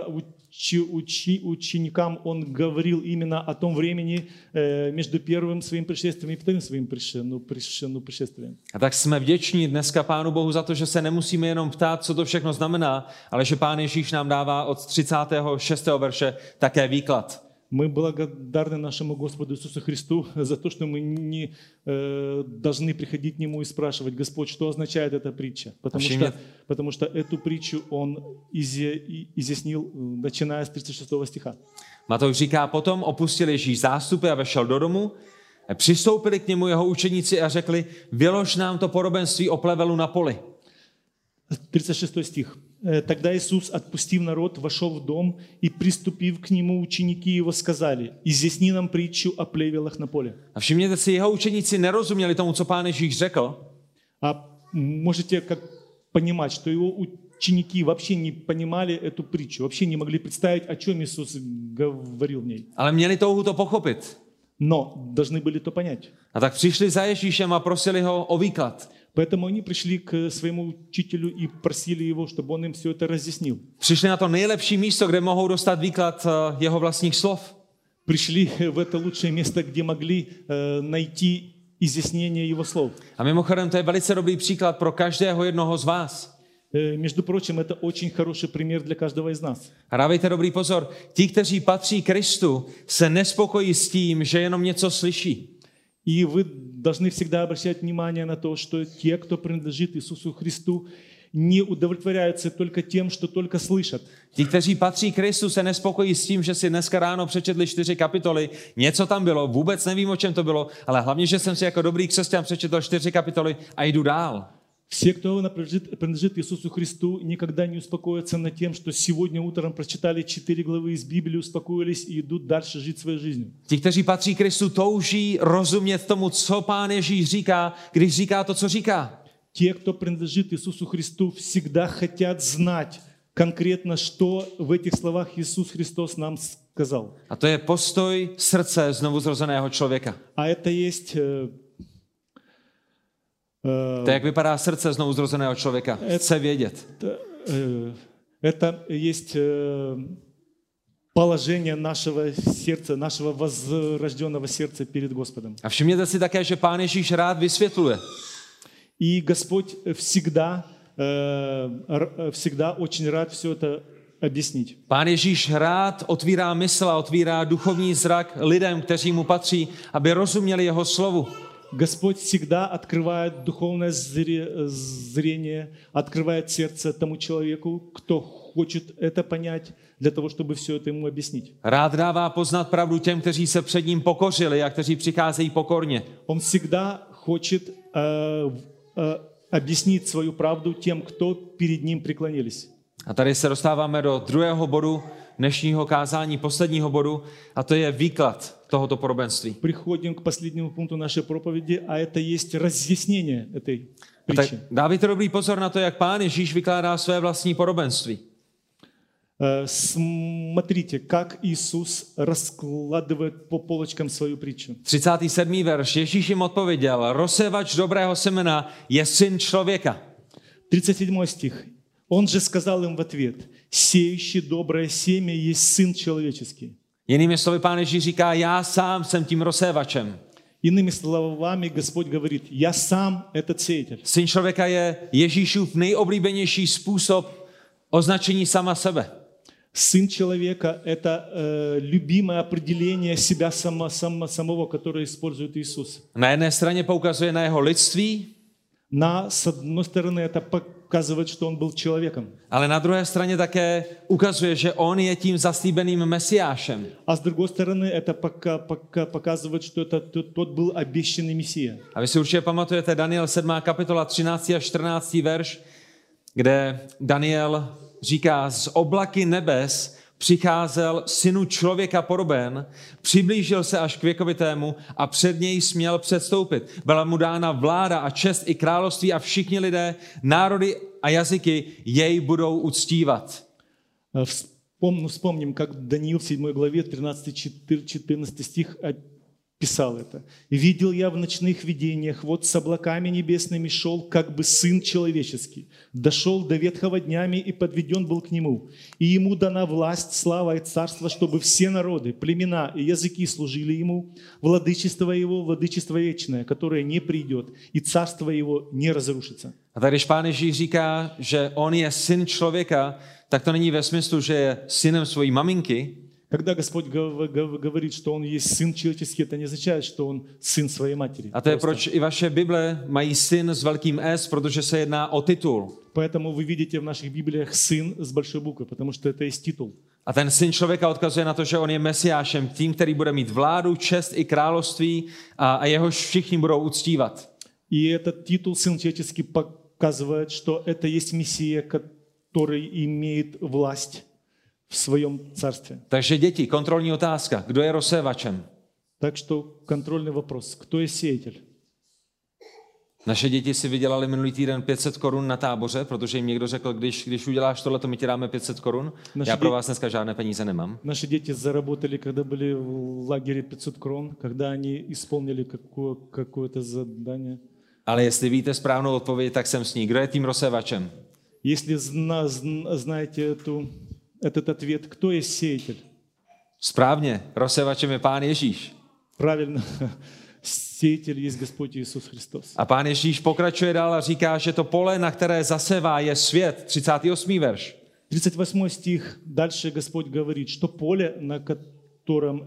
Speaker 2: ученикам он говорил именно о том времени между первым своим пришествием и вторым своим пришествием.
Speaker 1: A tak jsme vděční dneska Pánu Bohu za to, že se nemusíme jenom ptát, co to všechno znamená, ale že Pán Ježíš nám dává od 36. verše také výklad.
Speaker 2: Мы благодарны нашему Господу Иисусу Христу за то, что мы не должны приходить к Нему и спрашивать, Господь, что означает эта притча? Потому что эту притчу Он изъяснил, начиная с 36 стиха.
Speaker 1: Matouš říká, potom opustil Ježíš zástupy a vešel do domu, přistoupili k němu jeho učeníci a řekli, vylož nám to podobenství o plevelu na poli.
Speaker 2: 36 стих. Тогда Иисус, отпустив народ, вошел в дом, и, приступив к нему, ученики его сказали, изъясни нам притчу о плевелах на поле.
Speaker 1: A všimněte si, jeho učeníci nerozuměli tomu, co Pán Ježíš řekl.
Speaker 2: А можете как понимать, что его ученики вообще не понимали эту притчу, вообще не могли представить, о чем Иисус говорил в ней.
Speaker 1: Ale měli touhu to pochopit.
Speaker 2: Но должны были то понять.
Speaker 1: A tak přišli za Ježíšem a prosili ho o výklad.
Speaker 2: Поэтому они пришли к своему учителю и просили его, чтобы он им все это разъяснил.
Speaker 1: Přišli na to nejlepší místo, kde mohou dostat výklad jeho vlastních slov.
Speaker 2: Пришли в это лучшее место, где могли найти изъяснение его слов.
Speaker 1: A mimochodem, to je velice dobrý příklad pro každého jednoho z vás.
Speaker 2: Между прочим, это очень хороший пример для каждого из нас.
Speaker 1: A dávejte dobrý pozor. Ti, kteří patří Kristu, se nespokojí s tím, že jenom něco slyší.
Speaker 2: И вы должны всегда обращать внимание на то, что те, кто принадлежит Иисусу Христу, не удовлетворяются только тем, что только слышат.
Speaker 1: Ti, kteří patří Kristu, se nespokojí s tím, že si dneska ráno přečetli 4 kapitoly, něco tam bylo, vůbec nevím, o čem to bylo, ale hlavně, že jsem si jako dobrý křesťan přečetl 4 kapitoly a jdu dál.
Speaker 2: Все, кто принадлежит Иисусу Христу, никогда не успокоятся над тем, что сегодня утром прочитали 4 главы из Библии, успокоились и идут дальше жить своей жизнью.
Speaker 1: Ti, kteří patří Kristu, touží rozumět tomu, co Pán Ježíš říká, když říká to, co říká.
Speaker 2: Те, кто принадлежит Иисусу Христу, всегда хотят знать конкретно, что в этих словах Иисус Христос нам сказал.
Speaker 1: A to je postoj srdce znovuzrozeného člověka.
Speaker 2: А это есть...
Speaker 1: To je, jak vypadá srdce znovuzrozeného člověka. Chce vědět.
Speaker 2: Это есть положение нашего сердца, нашего возрожденного сердца перед Господом.
Speaker 1: A všimněte si také, že Pán Ježíš rád vysvětluje.
Speaker 2: И Господь всегда очень рад все это объяснить.
Speaker 1: Pán Ježíš rád otvírá mysl a otvírá duchovní zrak lidem, kteří mu patří, aby rozuměli jeho slovu.
Speaker 2: Господь всегда открывает духовное зрение, открывает сердце тому человеку, кто хочет это понять, для того, чтобы все это ему объяснить.
Speaker 1: Rád dává poznat pravdu těm, kteří se před ním pokořili a kteří přicházejí pokorně.
Speaker 2: Он всегда хочет объяснить свою правду тем, кто перед ним преклонились.
Speaker 1: A tady se dostáváme do druhého bodu dnešního kázání, posledního bodu, a to je výklad tohoto podobenství.
Speaker 2: Приходим к последнему пункту нашей проповеди, а это есть разъяснение этой притчи.
Speaker 1: Dávajte dobrý pozor na to, jak Pán Ježíš vykládá své vlastní podobenství.
Speaker 2: Смотрите, как Иисус раскладывает по полочкам свою притчу.
Speaker 1: 37. verš. Ježíš jim odpověděl, rozsévač dobrého semena je syn člověka.
Speaker 2: 37 стих. Он же сказал им в ответ, сеющий доброе семя есть Сын Человеческий.
Speaker 1: Jinými slovy Pán Ježíš říká, já sám jsem tím rozsévačem.
Speaker 2: Иными словами Господь говорит, я сам этот сеятель.
Speaker 1: Syn člověka je Ježíšův nejoblíbenější způsob označení sama sebe.
Speaker 2: Сын человека – это любимое определение себя самого, которое использует Иисус.
Speaker 1: Na jedné straně poukazuje na jeho lidství,
Speaker 2: С одной стороны, это показывает, что он был человеком.
Speaker 1: ale na druhé straně také ukazuje, že on je tím zaslíbeným mesiášem.
Speaker 2: А с другой стороны, это показывает, что это тот был обещанный Мессия.
Speaker 1: A vy si určitě pamatujete Daniel 7. kapitola 13. a 14. verš, kde Daniel říká, z oblaky nebes přicházel synu člověka podoben, přiblížil se až k věkovitému a před něj směl předstoupit. Byla mu dána vláda a čest i království a všichni lidé, národy a jazyky jej budou uctívat.
Speaker 2: Вспомним, как Даниил в 7 главе 13-14 стих писал это. «Видел я в ночных видениях, вот с облаками небесными шел, как бы Сын Человеческий. Дошел до ветхого днями и подведен был к Нему. И Ему дана власть, слава и царство, чтобы все народы, племена и языки служили Ему. Владычество Его, владычество вечное, которое не придет, и царство Его не разрушится».
Speaker 1: A tak když Pán Ježíš říká, že on je syn člověka, tak to není ve smyslu, že je synem svojí maminky,
Speaker 2: Когда Господь говорит, что Он есть Сын Человеческий, это не означает, что Он сын своей матери.
Speaker 1: a to je proč i vaše Bible mají syn s velkým S, protože se jedná o titul.
Speaker 2: Поэтому вы видите в наших Библиях «сын» с большой буквы, потому что это есть титул.
Speaker 1: A ten syn člověka odkazuje na to, že on je mesiášem, tím, který bude mít vládu, čest i království a jehož všichni budou uctívat.
Speaker 2: И этот титул «сын человеческий» показывает, что это есть Мессия, который имеет власть в своем царстве.
Speaker 1: Takže děti, kontrolní otázka. Kdo je rozsévačem?
Speaker 2: Так что контрольный вопрос. Кто есть сеятель?
Speaker 1: Naše děti si vydělali minulý týden 500 korun na táboře, protože jim někdo řekl, když uděláš tohle, to my ti dáme 500 korun. Já pro vás dneska žádné peníze nemám.
Speaker 2: Наши дети заработали, когда были в лагере 500 крон, когда они исполнили какое-то задание.
Speaker 1: Ale jestli víte správnou odpověď, tak jsem s ní. Kdo je tím rozsévačem?
Speaker 2: Если знаете этот ответ, кто есть сеятель?
Speaker 1: Správně, rozsévačem je Pán Ježíš.
Speaker 2: Правильно, сеятель есть Господь Иисус Христос.
Speaker 1: A Pán Ježíš pokračuje dál a říká, že to pole, na které zasevá, je svět. 38. verš.
Speaker 2: 38 стих. Дальше Господь говорит, что поле, на котором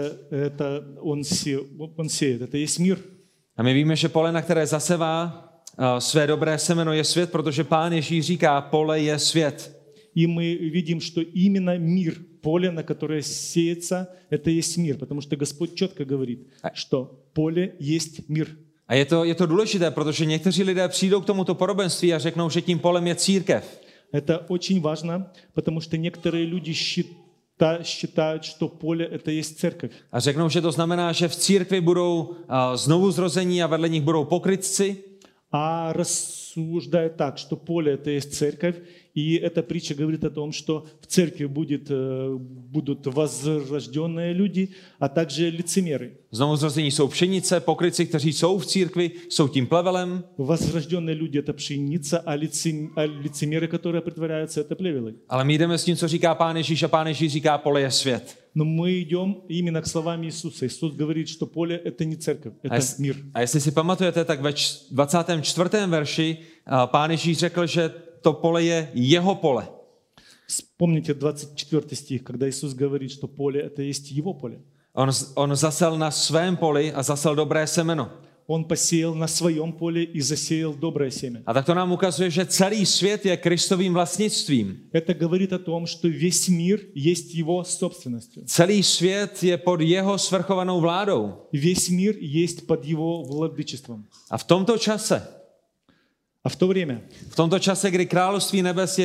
Speaker 2: это он сеет, это есть мир.
Speaker 1: A my víme, že pole, na které zasevá, své dobré semeno je svět, protože Pán Ježíš říká, pole je svět.
Speaker 2: И мы видим, что именно мир, поле, на которое сеется, это есть мир. Потому что Господь четко говорит, что поле есть мир.
Speaker 1: A je to důležité, protože někteří lidé přijdou k tomuto podobenství a řeknou, že tím polem je církev.
Speaker 2: Это очень важно, потому что некоторые люди считают, что поле это есть церковь.
Speaker 1: A řeknou, že to znamená, že v církvi budou znovu zrození a vedle nich budou pokrytci.
Speaker 2: А рассуждают так, что поле это есть церковь, и эта притча говорит о том, что в церкви будут возрожденные люди, а также лицемеры.
Speaker 1: Znovu zrození jsou pšenice, pokrytci, kteří jsou v církvi, jsou tím plevelem.
Speaker 2: Возрожденные люди это пшеница, а лицемеры, которые притворяются, это плевелы.
Speaker 1: Ale my jdeme s tím, co říká Pán Ježíš, a Pán Ježíš říká, pole je svět.
Speaker 2: Но мы идем именно к словам Иисуса. Иисус говорит, что поле это не церковь, это мир.
Speaker 1: A jestli si pamatujete, tak ve 24. verši Pán Ježíš řekl, že to pole je jeho pole.
Speaker 2: Вспомните 24 стих, когда Иисус говорит, что поле это есть его поле.
Speaker 1: On zasel na svém poli a zasel dobré semeno.
Speaker 2: Он посеял на своем поле и засеял доброе семя.
Speaker 1: A tak to nám ukazuje, že celý svět je Kristovým vlastnictvím.
Speaker 2: Это говорит о том, что весь мир есть его собственностью.
Speaker 1: Celý svět je pod jeho svrchovanou vládou.
Speaker 2: Весь мир есть под его владычеством.
Speaker 1: A v tomto čase,
Speaker 2: А в то время,
Speaker 1: kdy království nebes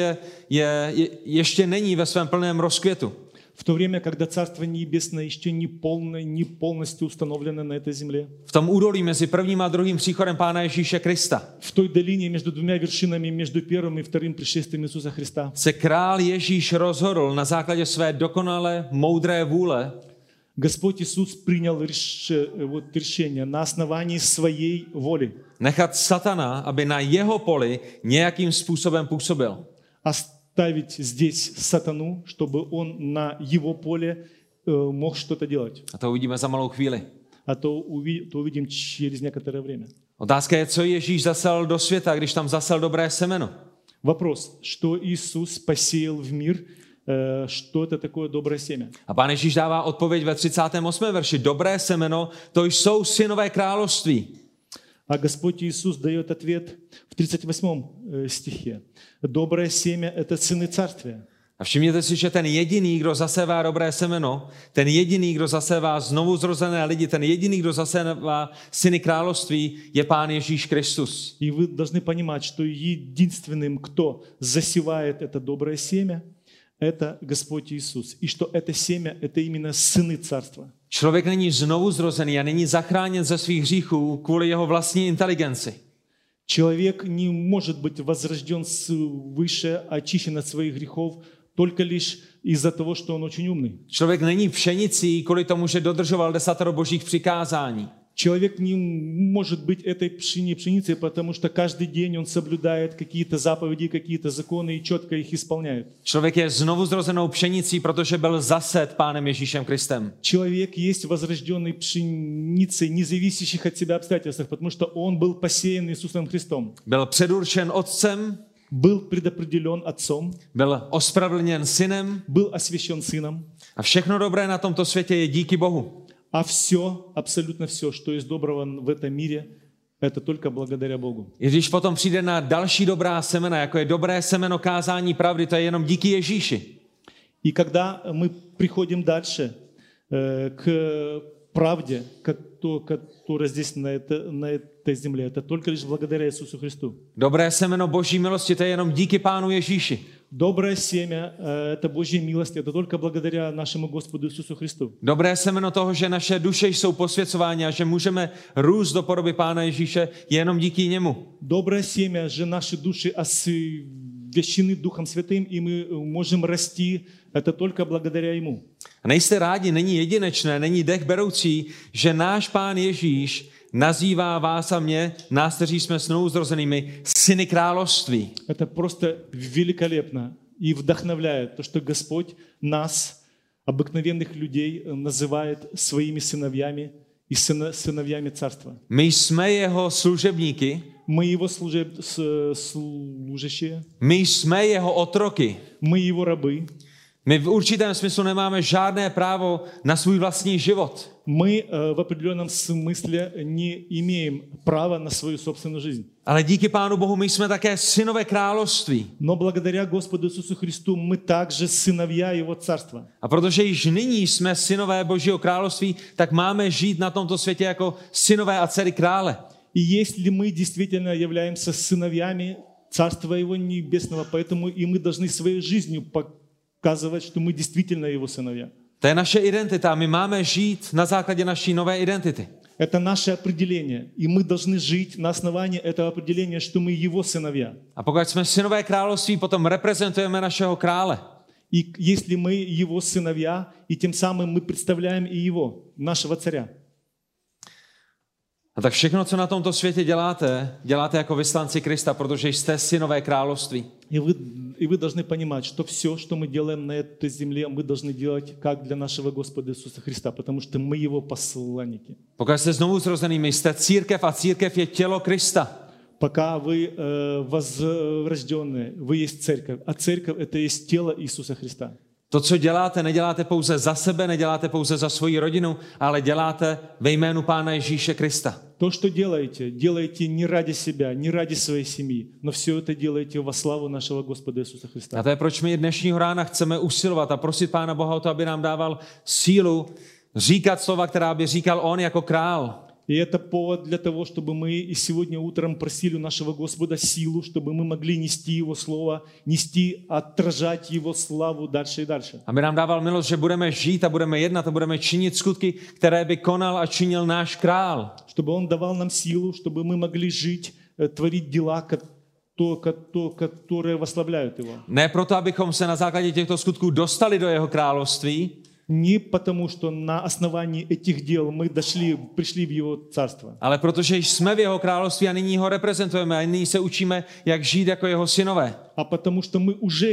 Speaker 1: ještě není ve svém plném rozkvětu,
Speaker 2: в то время, когда Царство Небесное еще не полностью установлено на этой земле,
Speaker 1: v tom údolí mezi prvním a druhým příchodem Pána Ježíše Krista,
Speaker 2: в той долине между двумя вершинами, между первым и вторым пришествием Иисуса Христа,
Speaker 1: se král Ježíš rozhodl na základě své dokonale moudré vůle
Speaker 2: Господь Иисус принял решение на основании своей воли
Speaker 1: nechat satana, aby na jeho poli nějakým způsobem působil.
Speaker 2: оставить здесь сатану, чтобы он на его поле мог что-то делать.
Speaker 1: A to uvidíme za malou chvíli.
Speaker 2: А то увидим через некоторое время.
Speaker 1: Otázka je, co Ježíš zasel do světa, když tam zasel dobré semeno.
Speaker 2: Вопрос, что Иисус посеял в мир, что это такое доброе семя?
Speaker 1: A Pán Ježíš dává odpověď ve 38. verši. Dobré semeno, to jsou synové království.
Speaker 2: А Господь Иисус дает ответ в 38 стихе. Доброе семя – это сыны царствия.
Speaker 1: A všimněte si, že ten jediný, kdo zasevá dobré semeno, ten jediný, kdo zasevá znovu zrozené lidi, ten jediný, kdo zasevá syny království, je Pán Ježíš Kristus.
Speaker 2: И вы должны понимать, что единственным, кто засевает это доброе семя, это Господь Иисус. И что это семя – это именно сыны царства.
Speaker 1: Člověk není znovu zrozený a není zachráněn ze svých hříchů kvůli jeho vlastní inteligenci.
Speaker 2: Человек не может быть возрожден свыше, очищен от своих грехов, только лишь из-за того, что он очень умный.
Speaker 1: Člověk není pšenicí kvůli tomu, že dodržoval 10 božích přikázání.
Speaker 2: Человек не может быть этой пшеницей, потому что каждый день он соблюдает какие-то заповеди, какие-то законы и четко их исполняет.
Speaker 1: Člověk je znovu zrozenou pšenicí, protože byl zasет Pánem Ježíšem Kristem.
Speaker 2: Человек есть возрожденной пшеницей, не зависящих от себя обстоятельств, потому что он был посеян Иисусом Христом.
Speaker 1: Byl předurčen Otcem,
Speaker 2: Был предопределен Отцом,
Speaker 1: byl ospravedlněn Synem
Speaker 2: был освящен Сыном,
Speaker 1: a všechno dobré na tomto světě je díky Bohu.
Speaker 2: а все, абсолютно все, что есть доброго в этом мире, это только благодаря Богу.
Speaker 1: I když potom přijde na další dobrá semena, jako je dobré semeno kázání pravdy, to je jenom díky Ježíši.
Speaker 2: И когда мы приходим дальше к правде, которая здесь на этой земле, это только лишь благодаря Иисусу Христу.
Speaker 1: Dobré semeno Boží milosti, to je jenom díky Pánu Ježíši.
Speaker 2: Доброе семя – это Божья милость, это только благодаря нашему Господу Иисусу Христу.
Speaker 1: Dobré semeno toho, že naše duše jsou posvěcovány a že můžeme růst do podoby Pána Ježíše, je jenom díky němu.
Speaker 2: Доброе семя, že наши души освящены Духом Святым, и мы можем расти, это только благодаря Ему.
Speaker 1: A nejste rádi, není jedinečné, není dech beroucí, že náš Pán Ježíš nazývá vás a mě, nás, kteří jsme znovu zrozenými, syny království.
Speaker 2: Это просто великолепно и вдохновляет то, что Господь нас, обыкновенных людей, называет своими сыновьями и сыновьями Царства.
Speaker 1: My jsme jeho služebníky,
Speaker 2: Мы Его служащие,
Speaker 1: my jsme jeho otroky.
Speaker 2: мы Его рабы.
Speaker 1: My v určitém smyslu nemáme žádné právo na svůj vlastní život.
Speaker 2: мы в определенном смысле не имеем права на свою собственную жизнь.
Speaker 1: Ale díky Pánu Bohu my jsme také synové království.
Speaker 2: Но благодаря Господу Иисусу Христу мы также сыновья Его Царства.
Speaker 1: A protože již nyní jsme synové Božího království, tak máme žít na tomto světě jako synové a dcery krále.
Speaker 2: И если мы действительно являемся сыновьями Царства Его Небесного, поэтому и мы должны своей жизнью показывать, что мы действительно Его сыновья.
Speaker 1: To je naše identita. My máme žít na základě naší nové identity.
Speaker 2: Это наше определение, и мы должны жить на основании этого определения, что мы Его сыновья.
Speaker 1: A pokud jsme synové království, potom reprezentujeme našeho krále.
Speaker 2: И если мы Его сыновья, и тем самым мы представляем и Его, нашего царя.
Speaker 1: A tak všechno, co na tomto světě děláte, děláte jako vyslanci Krista, protože jste synové království.
Speaker 2: И вы должны понимать, что все, что мы делаем на этой земле, мы должны делать как для нашего Господа Иисуса Христа, потому что мы Его посланники.
Speaker 1: Pokud jste znovu zrozenými, jste církev a církev je tělo Krista.
Speaker 2: Пока вы возрожденные, вы есть церковь, а церковь это есть тело Иисуса Христа.
Speaker 1: To, co děláte, neděláte pouze za sebe, neděláte pouze za svoji rodinu, ale děláte ve jménu Pána Ježíše Krista.
Speaker 2: То, что делаете не ради себя, не ради своей семьи, но все это делаете во славу нашего Господа Иисуса Христа.
Speaker 1: A to je, proč my dnešního rána chceme usilovat a prosit Pána Boha o to, aby nám dával sílu říkat slova, která by říkal on jako král.
Speaker 2: И это повод для того, чтобы мы и сегодня утром просили у нашего Господа силу, чтобы мы могли нести Его Слово, нести, отражать Его славу дальше и дальше.
Speaker 1: Aby nám dával milost, že budeme žít a budeme jednat a budeme činit skutky, které by konal a činil náš král.
Speaker 2: Чтобы Он давал нам силу, чтобы мы могли жить, творить дела, которые восславляют Его.
Speaker 1: Ne proto, abychom se na základě těchto skutků dostali do jeho království,
Speaker 2: Не потому, что на основании этих дел мы пришли в Его Царство.
Speaker 1: ale protože jsme v jeho království a nyní ho reprezentujeme a nyní se učíme, jak žít jako jeho synové.
Speaker 2: А потому что мы уже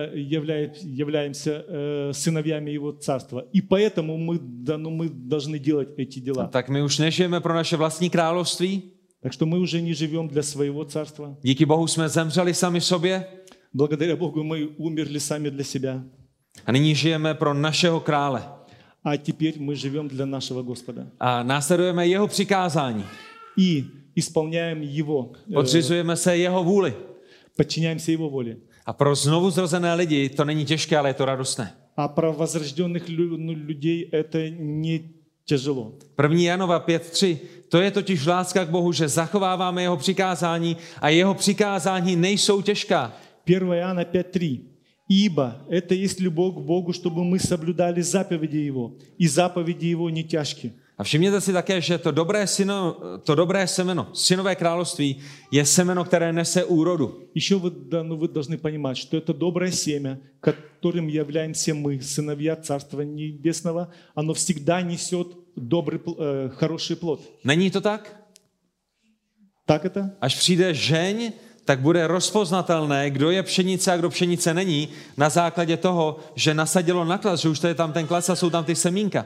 Speaker 2: являемся сыновьями Его Царства. И поэтому мы должны делать эти дела.
Speaker 1: Tak my už nežijeme pro naše vlastní království.
Speaker 2: Так что мы уже не живем для своего царства.
Speaker 1: Díky Bohu jsme zemřeli sami sobě.
Speaker 2: Благодаря Богу мы умерли сами для себя.
Speaker 1: A nyní žijeme pro našeho krále.
Speaker 2: А теперь мы живем для нашего Господа.
Speaker 1: A následujeme jeho přikázání.
Speaker 2: И исполняем Его.
Speaker 1: Podřizujeme se jeho vůli.
Speaker 2: Подчиняемся Его воле.
Speaker 1: A pro znovu zrozené lidi to není těžké, ale je to radostné.
Speaker 2: А про возрожденных людей это не тяжело.
Speaker 1: 1. Janova 5.3. To je totiž láska k Bohu, že zachováváme jeho přikázání a jeho přikázání nejsou těžká.
Speaker 2: 1 Иоанна 5.3. Ибо это есть любовь к Богу, чтобы мы соблюдали заповеди Его, и заповеди Его не тяжкие.
Speaker 1: A všimněte si také, že to dobré semeno, synové království, je semeno, které nese úrodu.
Speaker 2: Еще вы должны понимать, что это доброе семя, которым являемся мы, сыновья Царства Небесного, оно всегда несет хороший плод.
Speaker 1: Není to tak?
Speaker 2: Так это?
Speaker 1: Až přijde žeň, tak bude rozpoznatelné, kdo je pšenice a kdo pšenice není, na základě toho, že nasadilo na klas, že už to je tam ten klas a jsou tam ty semínka.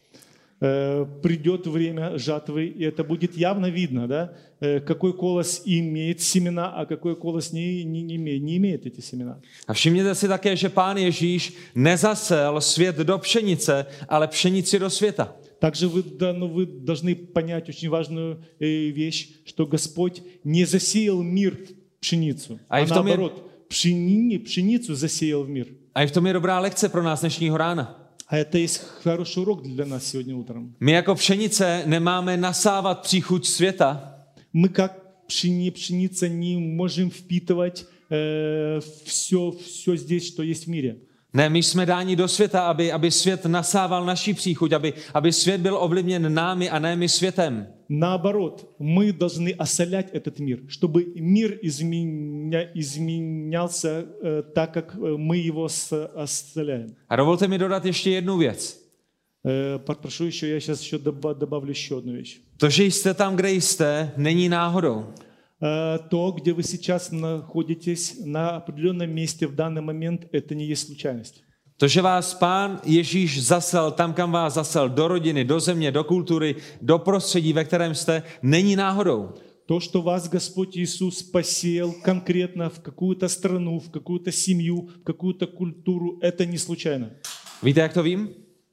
Speaker 2: Придет время жатвы, и это будет явно видно, да? Какой колос имеет семена, а какой колос не имеет эти семена.
Speaker 1: A všimněte si také, že Pán Ježíš nezasel svět do pšenice, ale pšenici do světa.
Speaker 2: Также вы должны понять очень важную вещь, что Господь не засеял мир в пшеницу, а наоборот, пшеницу засеял в мир.
Speaker 1: A i v tom je dobrá lekce pro nás dnešního rána.
Speaker 2: А это есть хороший урок для нас сегодня утром.
Speaker 1: My jako pšenice nemáme nasávat příchuť světa.
Speaker 2: Мы как пшеница не можем впитывать все здесь, что есть в мире.
Speaker 1: Ne, my jsme dáni do světa, aby svět nasával naši příchuť, aby svět byl ovlivněn námi a ne my světem.
Speaker 2: Наоборот, мы должны осолять этот мир, чтобы мир изменялся так, как мы его осоляем.
Speaker 1: A dovolte mi dodat ještě jednu věc.
Speaker 2: Прошу еще, я сейчас еще добавлю еще одну вещь.
Speaker 1: To, že jste tam, kde jste, není náhodou.
Speaker 2: То, где вы сейчас находитесь на определенном месте в данный момент, это не есть случайность.
Speaker 1: To, že vás Pán Ježíš zasel tam, kam vás zasel, do rodiny, do země, do kultury, do prostředí, ve kterém jste, není náhodou.
Speaker 2: То, что вас Господь Иисус посеял конкретно в какую-то страну, в какую-то семью, в какую-то культуру, это не случайно.
Speaker 1: Víte, jak to vím?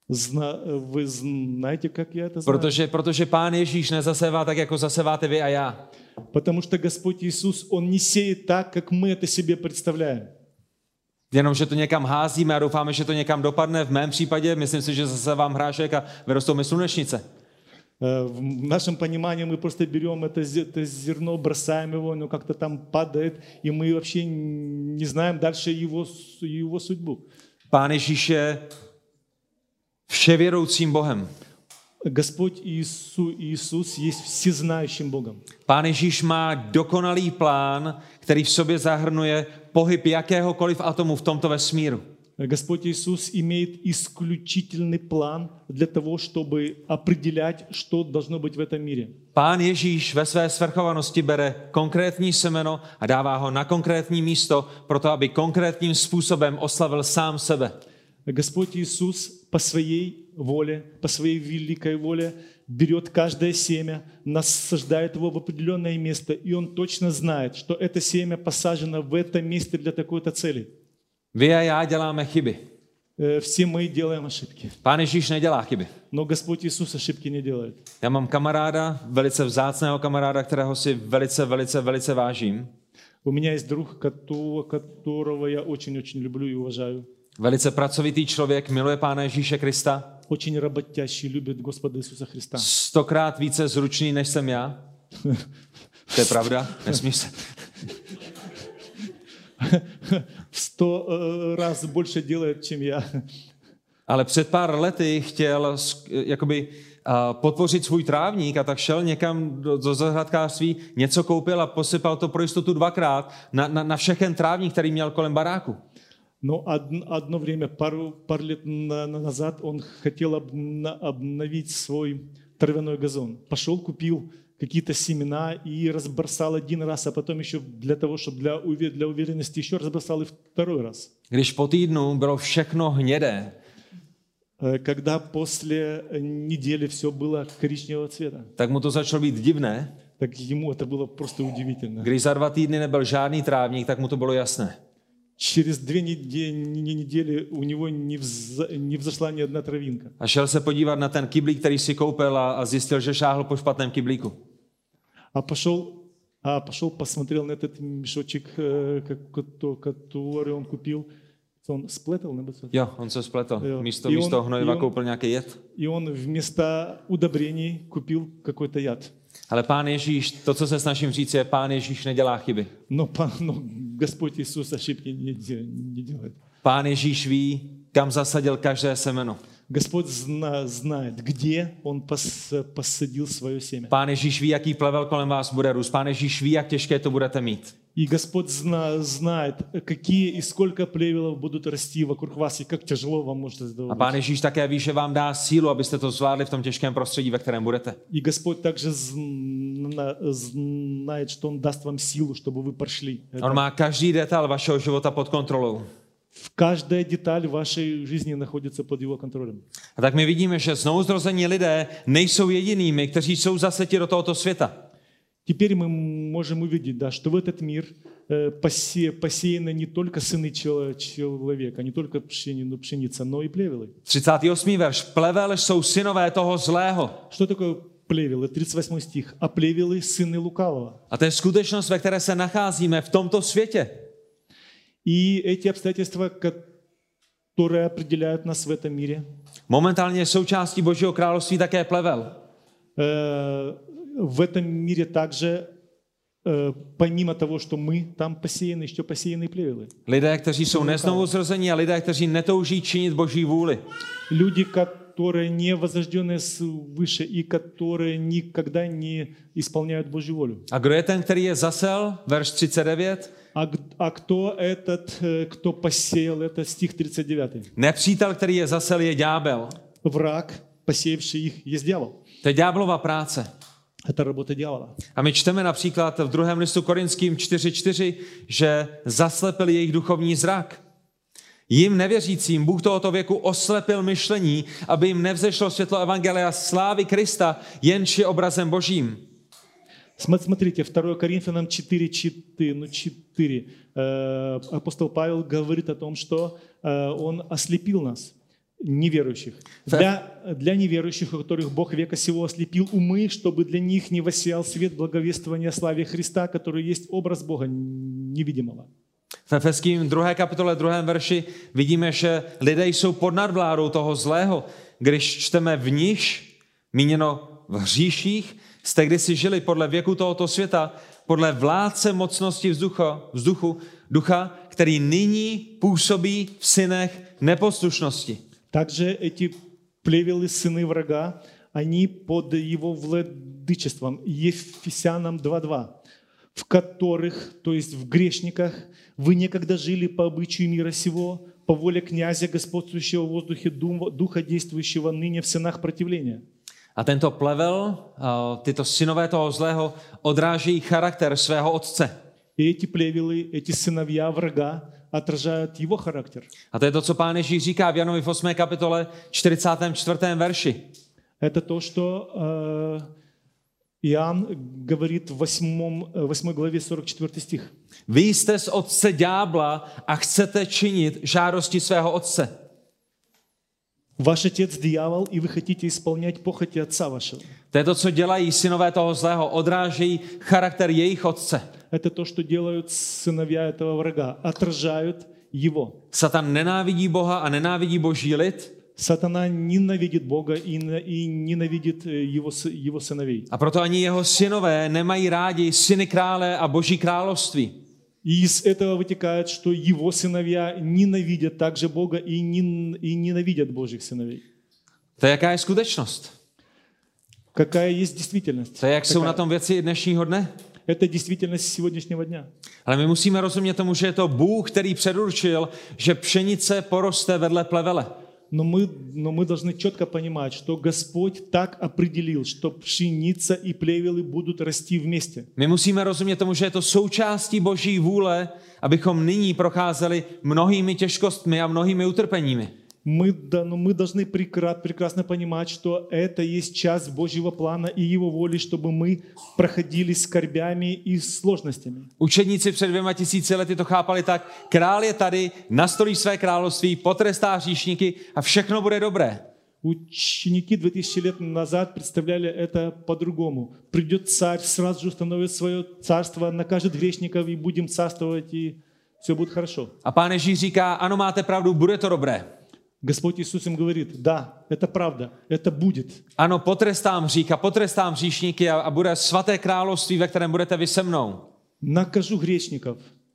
Speaker 2: Вы знаете, как я это знаю?
Speaker 1: Protože Pán Ježíš nezasevá tak, jako zaseváte vy a já.
Speaker 2: Потому что Господь Иисус, Он не сеет так, как мы это себе представляем.
Speaker 1: Jenom, že to někam házíme a doufáme, že to někam dopadne. V mém případě, myslím si, že zasevám hrášek a vyrostou mi slunečnice.
Speaker 2: В нашем понимании мы просто берем это зерно, бросаем его, оно как-то там падает, и мы вообще не знаем дальше его судьбу.
Speaker 1: Pán Ježíš je vševědoucím Bohem.
Speaker 2: Господь Иисус есть всезнающим Богом.
Speaker 1: Pán Ježíš má dokonalý plán, který v sobě zahrnuje pohyb jakéhokoliv atomu v tomto vesmíru.
Speaker 2: Господь Иисус имеет исключительный план для того, чтобы определять, что должно быть в этом мире.
Speaker 1: Pán Ježíš ve své svrchovanosti bere konkrétní semeno a dává ho na konkrétní místo, proto aby konkrétním způsobem oslavil sám sebe.
Speaker 2: Господь Иисус по своей воле, по своей великой воле берет каждое семя, насаждает его в определенное место, и Он точно знает, что это семя посажено в это место для такой-то цели.
Speaker 1: Vy a já děláme chyby.
Speaker 2: Все мы делаем ошибки.
Speaker 1: Pán Ježíš nedělá chyby.
Speaker 2: Но Господь Иисус ошибки не делает.
Speaker 1: Já mám kamaráda, velice vzácného kamaráda, kterého si velice vážím.
Speaker 2: У меня есть друг, которого я очень-очень люблю и уважаю.
Speaker 1: Velice pracovitý člověk, miluje Pána Ježíše Krista.
Speaker 2: Очень работящий, любит Господа Иисуса Христа.
Speaker 1: 100krát více zručný, než jsem já. To je pravda, nesmíš se.
Speaker 2: 100 раз больше делает, чем я.
Speaker 1: Ale před pár lety chtěl jakoby podpořit svůj trávník a tak šel někam do zahradkářství, něco koupil a posypal to pro jistotu 2krát na všechen trávník, který měl kolem baráku.
Speaker 2: Но одно время, пару лет назад, он хотел обновить свой травяной газон. Пошел, купил какие-то семена и разбросал один раз, а потом еще для того, чтобы для уверенности еще разбросал и второй раз.
Speaker 1: Když po týdnu bylo všechno hnědé,
Speaker 2: Когда после недели все было коричневого цвета,
Speaker 1: tak mu to začalo být divné.
Speaker 2: так ему это было просто удивительно.
Speaker 1: Když za 2 týdny nebyl žádný trávník, tak mu to bylo jasné.
Speaker 2: Через 2 недели у него не взошла ни одна травинка.
Speaker 1: A šel se podívat na ten kyblík, který si koupil a zjistil, že šáhl po špatném kyblíku.
Speaker 2: А пошел, посмотрел на этот мешочек, который он купил. Он сплетал,
Speaker 1: Jo, on se spletl. Místo hnojiva koupil nějaký jed.
Speaker 2: И он вместо удобрений купил какой-то яд.
Speaker 1: Ale Pán Ježíš, to, co se snažím říct, je, Pán Ježíš nedělá chyby.
Speaker 2: Но Господь Иисус ошибки не делает.
Speaker 1: Pán Ježíš ví, kam zasadil každé semeno.
Speaker 2: Господь знает, где Он посадил свое семя.
Speaker 1: Pán Ježíš ví, jaký plevel kolem vás bude růst. Pán Ježíš ví, jak těžké to budete mít.
Speaker 2: И Господь знает, какие и сколько плевелов будут расти вокруг вас, и как тяжело вам может это
Speaker 1: A Pán Ježíš také ví, že vám dá sílu, abyste to zvládli v tom těžkém prostředí, ve kterém budete.
Speaker 2: И Господь также знает, что Он даст vám sílu, чтобы вы прошли.
Speaker 1: On má každý detail vašeho života pod kontrolou.
Speaker 2: Каждая деталь вашей жизни находится под Его контролем.
Speaker 1: A tak my vidíme, že znovuzrození lidé nejsou jedinými, kteří jsou zaseti do tohoto světa.
Speaker 2: Теперь мы можем увидеть, да, что в этот мир посеяны не только сыны человека, не только пшеница, но и плевелы.
Speaker 1: 38. verš. Plevel jsou synové toho zlého.
Speaker 2: Что такое плевелы? 38 стих. А плевелы сыны лукавого.
Speaker 1: A to je skutečnost, ve které se nacházíme v tomto světě.
Speaker 2: И эти обстоятельства, которые определяют нас в этом мире,
Speaker 1: Momentálně je součástí Božího království také plevel.
Speaker 2: В этом мире также, помимо того, что мы там посеяны, еще посеяны плевелы.
Speaker 1: Lidé, kteří jsou neznovuzrození a lidé, kteří netouží činit Boží vůli.
Speaker 2: Люди, которые не возрожденные свыше и которые никогда не исполняют Божью волю.
Speaker 1: A kdo je ten, který je zasel? Verš 39.
Speaker 2: А кто этот, кто посеял? Это стих 39.
Speaker 1: Nepřítel, který je zasel, je ďábel.
Speaker 2: Враг, посеявший их, есть дьявол.
Speaker 1: To je ďáblova práce.
Speaker 2: Это работа дьявола.
Speaker 1: A my čteme například v 2. listu Korinským 4:4, že zaslepil jejich duchovní zrak. Jim nevěřícím Bůh tohoto věku oslepil myšlení, aby jim nevzešlo světlo evangelia slávy Krista, jenž je obrazem Božím.
Speaker 2: Смотрите, 2 Коринфянам 4. Апостол Павел говорит о том, что он ослепил нас. неверующих. Для неверующих, у которых Бог века сего ослепил умы, чтобы для них не воссиял свет благовествования о славе Христа, который есть образ Бога невидимого.
Speaker 1: V Efeským 2. kapitole 2. verši vidíme, že lidé jsou pod nadvládou toho zlého. Když čteme v nich, míněno v hříších, jste kdysi žili podle věku tohoto světa, podle vládce mocnosti ducha, který nyní působí v synech neposlušnosti.
Speaker 2: Также эти плевелы, сыны врага, они под его владычеством. Ефесянам 2:2, в которых, то есть в грешниках, вы некогда жили по обычаю мира сего, по воле князя, господствующего в воздухе, духа, действующего ныне в сынах противления.
Speaker 1: A tento plevel, tyto synové toho zlého, odrážejí charakter svého otce.
Speaker 2: И эти плевелы, эти сыновья врага отражают его характер.
Speaker 1: A to je to, co Pán Ježíš říká v Janovi v 8. kapitole 44. verši.
Speaker 2: Это то, что Иоанн говорит в 8 главе 44 стих.
Speaker 1: Vy jste z otce ďábla a chcete činit žádosti svého otce.
Speaker 2: Ваш отец дьявол, и вы хотите исполнять похоти отца вашего.
Speaker 1: To je to, co dělají synové toho zlého, odrážejí charakter jejich otce.
Speaker 2: Это то, что делают сыновья этого врага, отражают его.
Speaker 1: Satan nenávidí Boha a nenávidí boží lid.
Speaker 2: Сатана ненавидит Бога и ненавидит его сыновей.
Speaker 1: A proto ani jeho synové nemají rádi syny krále a boží království.
Speaker 2: И из этого вытекает, что его сыновья ненавидят также Бога и ненавидят Божьих сыновей.
Speaker 1: To je jaká je skutečnost.
Speaker 2: Какая есть действительность?
Speaker 1: To je, jak jsou na tom věci dnešního dne.
Speaker 2: Это действительность сегодняшнего дня.
Speaker 1: Ale my musíme rozumět tomu, že je to Bůh, který předurčil, že pšenice poroste vedle plevele.
Speaker 2: Но мы должны четко понимать, что Господь так определил, что пшеница и плевелы будут расти вместе.
Speaker 1: My musíme rozumět tomu, že je to součástí Boží vůle, abychom nyní procházeli mnohými těžkostmi a mnohými utrpeními.
Speaker 2: Мы должны прекрасно понимать, что это есть часть Божьего плана и Его воли, чтобы мы проходили скорбями и сложностями.
Speaker 1: Učedníci před 2000 lety to chápali tak, král je tady, nastolí své království, potrestá hříšníky a všechno bude dobré.
Speaker 2: Ученики 2000 лет назад представляли это по-другому. Придет царь, сразу же установит свое царство, накажет грешников и будем царствовать, и все будет хорошо.
Speaker 1: A Pán Ježíš říká, ano, máte pravdu, bude to dobré.
Speaker 2: Господь Иисус им говорит, да, это правда, это будет.
Speaker 1: Ano, potrestám hřích a potrestám hříšníky a bude svaté království, ve kterém budete vy se mnou.
Speaker 2: Накажу грешников,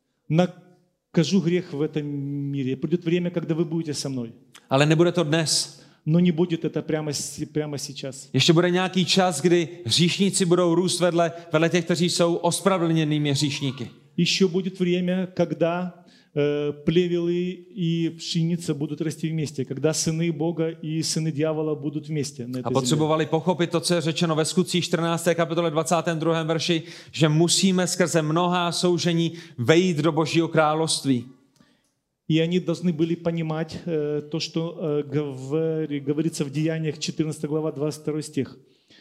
Speaker 2: накажу грех в этом мире. Придет время, когда вы будете со мной.
Speaker 1: Ale nebude to dnes.
Speaker 2: Но не будет это прямо сейчас.
Speaker 1: Ještě bude nějaký čas, kdy hříšníci budou růst vedle těch, kteří jsou ospravedlněnými hříšníky.
Speaker 2: Еще будет время, когда плевелы и пшеница будут расти вместе, когда сыны Бога и сыны дьявола будут вместе на этой
Speaker 1: A potřebovali pochopit to, co je řečeno ve Skutcích 14. kapitole 22. verši, že musíme skrze mnohá soužení vejít do Božího království.
Speaker 2: И они должны были понимать то, что говорится в Деяниях 14 глава 22 стих,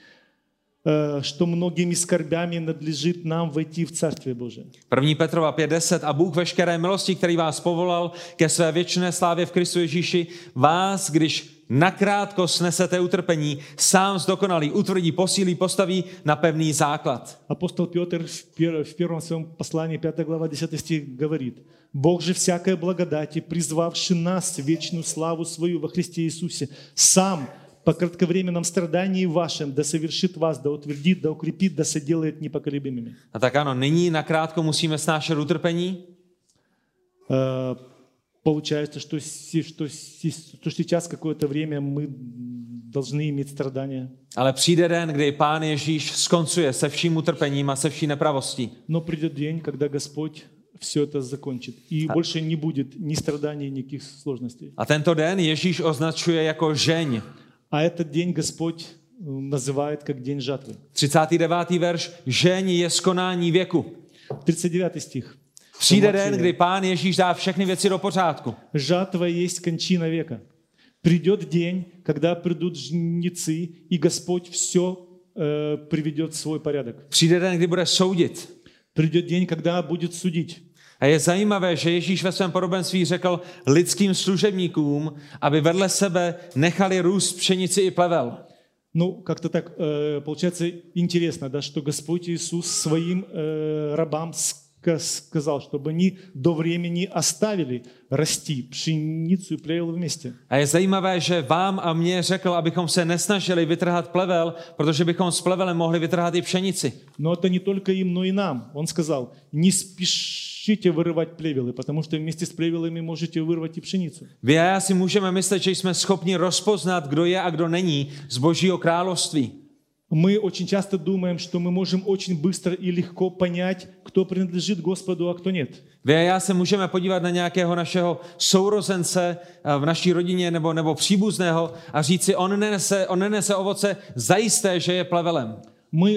Speaker 2: что многими скорбями надлежит нам войти в Царствие Божие.
Speaker 1: 1. Petrova 5:10 a Bůh veškeré milosti, který vás povolal ke své věčné slávě v Kristu Ježíši, vás, když nakrátko snesete utrpení, sám zdokonalý, utvrdí, posílí, postaví na pevný základ.
Speaker 2: Апостол Петр в первом своем послании, 5 глава 10 стих говорит: «Бог же всякой благодати, призвавший нас в вечную славу свою во Христе Иисусе, сам по кратковременном страдании вашем да совершит вас, да утвердит, да укрепит, да соделает непоколебимыми».
Speaker 1: A tak ano, nyní nakrátko musíme snášet utrpení.
Speaker 2: Получается, что сейчас какое-то время мы должны иметь страдания.
Speaker 1: Ale přijde den, kdy Pán Ježíš skoncuje se vším utrpením a se vší nepravostí.
Speaker 2: Но придет день, когда Господь все это закончит. И больше не будет ни страданий, никаких сложностей.
Speaker 1: A tento den Ježíš označuje jako žeň.
Speaker 2: А этот день Господь называет как день жатвы.
Speaker 1: 39. verš, žeň je skonání věku.
Speaker 2: 39 стих.
Speaker 1: Přijde den, kdy Pán Ježíš dá všechny věci do pořádku.
Speaker 2: Жатва есть кончина века. Придет день, когда придут жнецы, и Господь все приведет в свой порядок.
Speaker 1: Přijde den, kdy bude soudit.
Speaker 2: Придет день, когда будет судить.
Speaker 1: A je zajímavé, že Ježíš ve svém podobenství řekl lidským služebníkům, aby vedle sebe nechali růst pšenici i plevel.
Speaker 2: Ну, как-то так получается интересно, да, что Господь Иисус своим рабам сказал, чтобы они до времени оставили расти пшеницу и плевел вместе.
Speaker 1: A je zajímavé, že vám a mně řekl, abychom se nesnažili vytrhat plevel, protože bychom s plevelem mohli vytrhat i pšenici.
Speaker 2: Но это не только им, но и нам. Он сказал, не спешите вырывать плевелы, потому что вместе с плевелами можете вырвать и пшеницу.
Speaker 1: Vy a já si můžeme myslet, že jsme schopni rozpoznat, kdo je a kdo není z Božího království.
Speaker 2: Мы очень часто думаем, что мы можем очень быстро и легко понять, кто принадлежит Господу, а кто нет.
Speaker 1: Vy a já se můžeme podívat na nějakého našeho sourozence v naší rodině nebo příbuzného a říct si, on nenese ovoce, zajisté, že je plevelem.
Speaker 2: Мы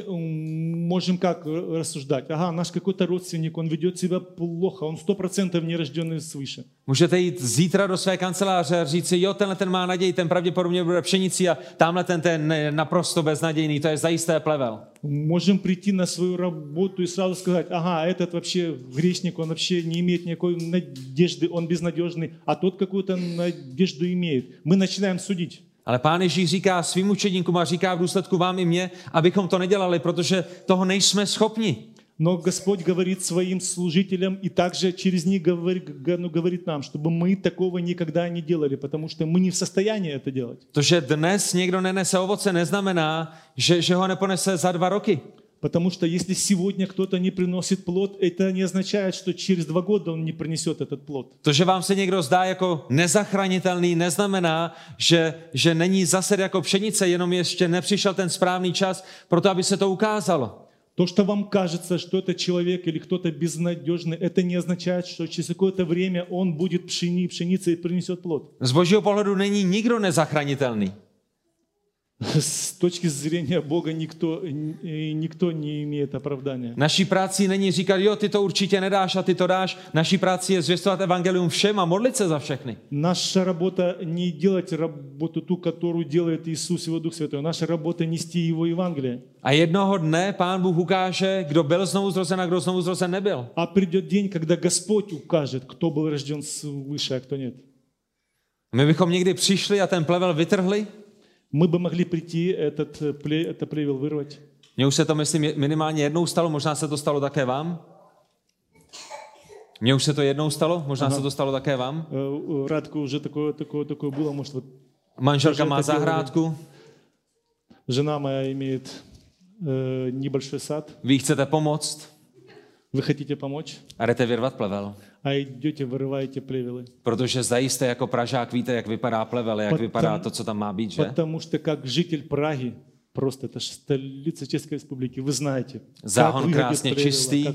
Speaker 2: можем как рассуждать? Ага, наш какой-то родственник, он ведет себя плохо, он 100% нерожденный свыше.
Speaker 1: Můžete jít zítra do své kanceláře a říct si, jo, tenhle ten má naději, ten pravděpodobně bude pšenici a tamhle ten je naprosto beznadějný, to je zajisté plevel.
Speaker 2: Можем прийти на свою работу и сразу сказать, ага, этот вообще грешник, он вообще не имеет никакой надежды, он безнадежный, а тот какую-то надежду имеет. Мы начинаем судить.
Speaker 1: Ale Pán Ježíš říká svým učedníkům a říká v důsledku vám i mně, abychom to nedělali, protože toho nejsme schopni.
Speaker 2: Но Господь говорит своим служителям и также через них говорит нам, чтобы мы такого никогда не делали, потому что мы не в состоянии это делать.
Speaker 1: To, že dnes někdo nenese ovoce, neznamená, že ho neponese za 2 roky.
Speaker 2: Потому что если сегодня кто-то не приносит плод, это не означает, что через 2 года он не принесет этот плод.
Speaker 1: To, že vám se někdo zdá jako nezachranitelný, neznamená, že není zased jako pšenice, jenom ještě nepřišel ten správný čas pro to, aby se to ukázalo.
Speaker 2: То, что вам кажется, что это человек или кто-то безнадежный, это не означает, что через какое-то время он будет пшеницей и принесет плод.
Speaker 1: Z Božího pohledu není nikdo nezachranitelný.
Speaker 2: С точки зрения Бога никто не имеет оправдания.
Speaker 1: Naší práci není říkat, jo, ty to určitě nedáš a ty to dáš. Naší práci je zvěstovat evangelium všem a modlit se za všechny.
Speaker 2: Наша работа не делать работу ту, которую делает Иисус, Его Дух Святой. Наша работа нести Его Евангелие.
Speaker 1: A jednoho dne Pán Bůh ukáže, kdo byl znovu zrozen a kdo znovu zrozen nebyl.
Speaker 2: А придет день, когда Господь укажет, кто был рожден свыше, а кто нет.
Speaker 1: My bychom někdy přišli a ten plevel vytrhli.
Speaker 2: Мы бы могли прийти, это плевел вырвать.
Speaker 1: Mně už se to, myslím, minimálně jednou stalo, možná se to stalo také vám. Mně už se to jednou stalo, možná se to stalo také vám.
Speaker 2: Радко уже такое было, может, вот.
Speaker 1: Manželka má zahrádku.
Speaker 2: Жена моя имеет небольшой сад.
Speaker 1: Vy chcete pomoct.
Speaker 2: Вы хотите помочь?
Speaker 1: A jdete vyrvat plevel.
Speaker 2: А идете, вырываете плевелы.
Speaker 1: Protože zajisté jako Pražák víte, jak vypadá plevel, jak vypadá to, co tam má být, že?
Speaker 2: Потому что как житель Праги, просто это столица Чешской Республики, вы знаете,
Speaker 1: Záhon krásně čistý.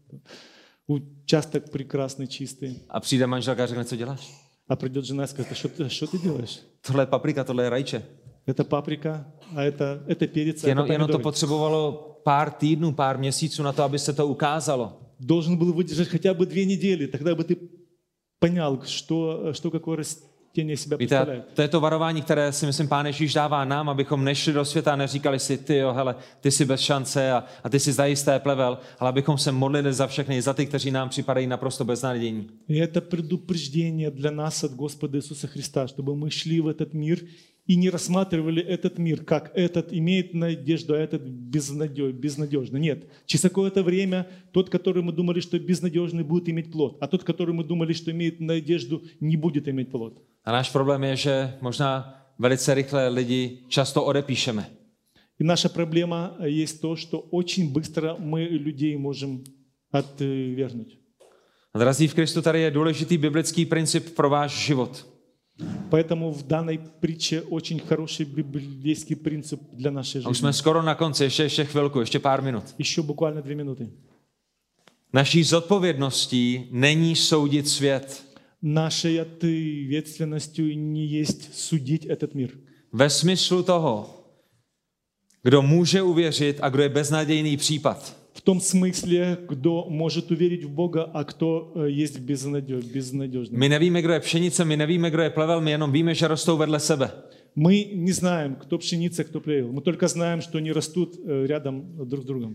Speaker 2: Участок прекрасный, čistý.
Speaker 1: A přijde manželka a řekne, co děláš?
Speaker 2: А придет жена и скажет, что ты делаешь?
Speaker 1: Tohle je paprika, tohle je rajče.
Speaker 2: Это паприка, а это перец, а это
Speaker 1: Jenom to
Speaker 2: помидоры.
Speaker 1: potřebovalo pár týdnů, pár měsíců na to, aby se to ukázalo.
Speaker 2: Должен был выдержать хотя бы 2 недели, тогда бы ты понял, что какое растение себя представляет.
Speaker 1: Víte, to je to varování, které si myslím Pán Ježíš dává nám, abychom nešli do světa a neříkali si, ty jo, hele, ty jsi bez šance a ty jsi zajisté plevel, ale abychom se modlili za všechny, za ty, kteří nám připadají naprosto beznadějní.
Speaker 2: И это предупреждение для нас от Господа Иисуса Христа, чтобы мы шли в этот мир и не рассматривали этот мир, как этот имеет надежду, а этот безнадежный. Нет. Через какое-то время тот, который мы думали, что безнадежный, будет иметь плод, а тот, который мы думали, что имеет надежду, не будет иметь плод.
Speaker 1: A náš problém je, že možná velice rychle lidi často odepíšeme.
Speaker 2: И наша проблема есть то, что очень быстро мы людей можем отвергнуть.
Speaker 1: A drazí v Kristu, tady je důležitý biblický princip pro váš život.
Speaker 2: Поэтому в данной притче очень хороший библейский принцип для нашей
Speaker 1: A už jsme
Speaker 2: жизни.
Speaker 1: skoro na konci, ještě chvilku, ještě pár minut.
Speaker 2: Еще буквально 2 минуты.
Speaker 1: Naší zodpovědností není soudit svět.
Speaker 2: Нашей ответственностью не есть судить этот мир.
Speaker 1: Ve smyslu toho, kdo může uvěřit a kdo je beznadějný případ.
Speaker 2: В том смысле, кто может уверить в Бога, а кто есть безнадежный.
Speaker 1: My nevíme, kdo je pšenice, my nevíme, kdo je plevel, my jenom víme, že rostou vedle sebe.
Speaker 2: Мы не знаем, кто пшеница, кто плевел. Мы только знаем, что они растут рядом друг с другом.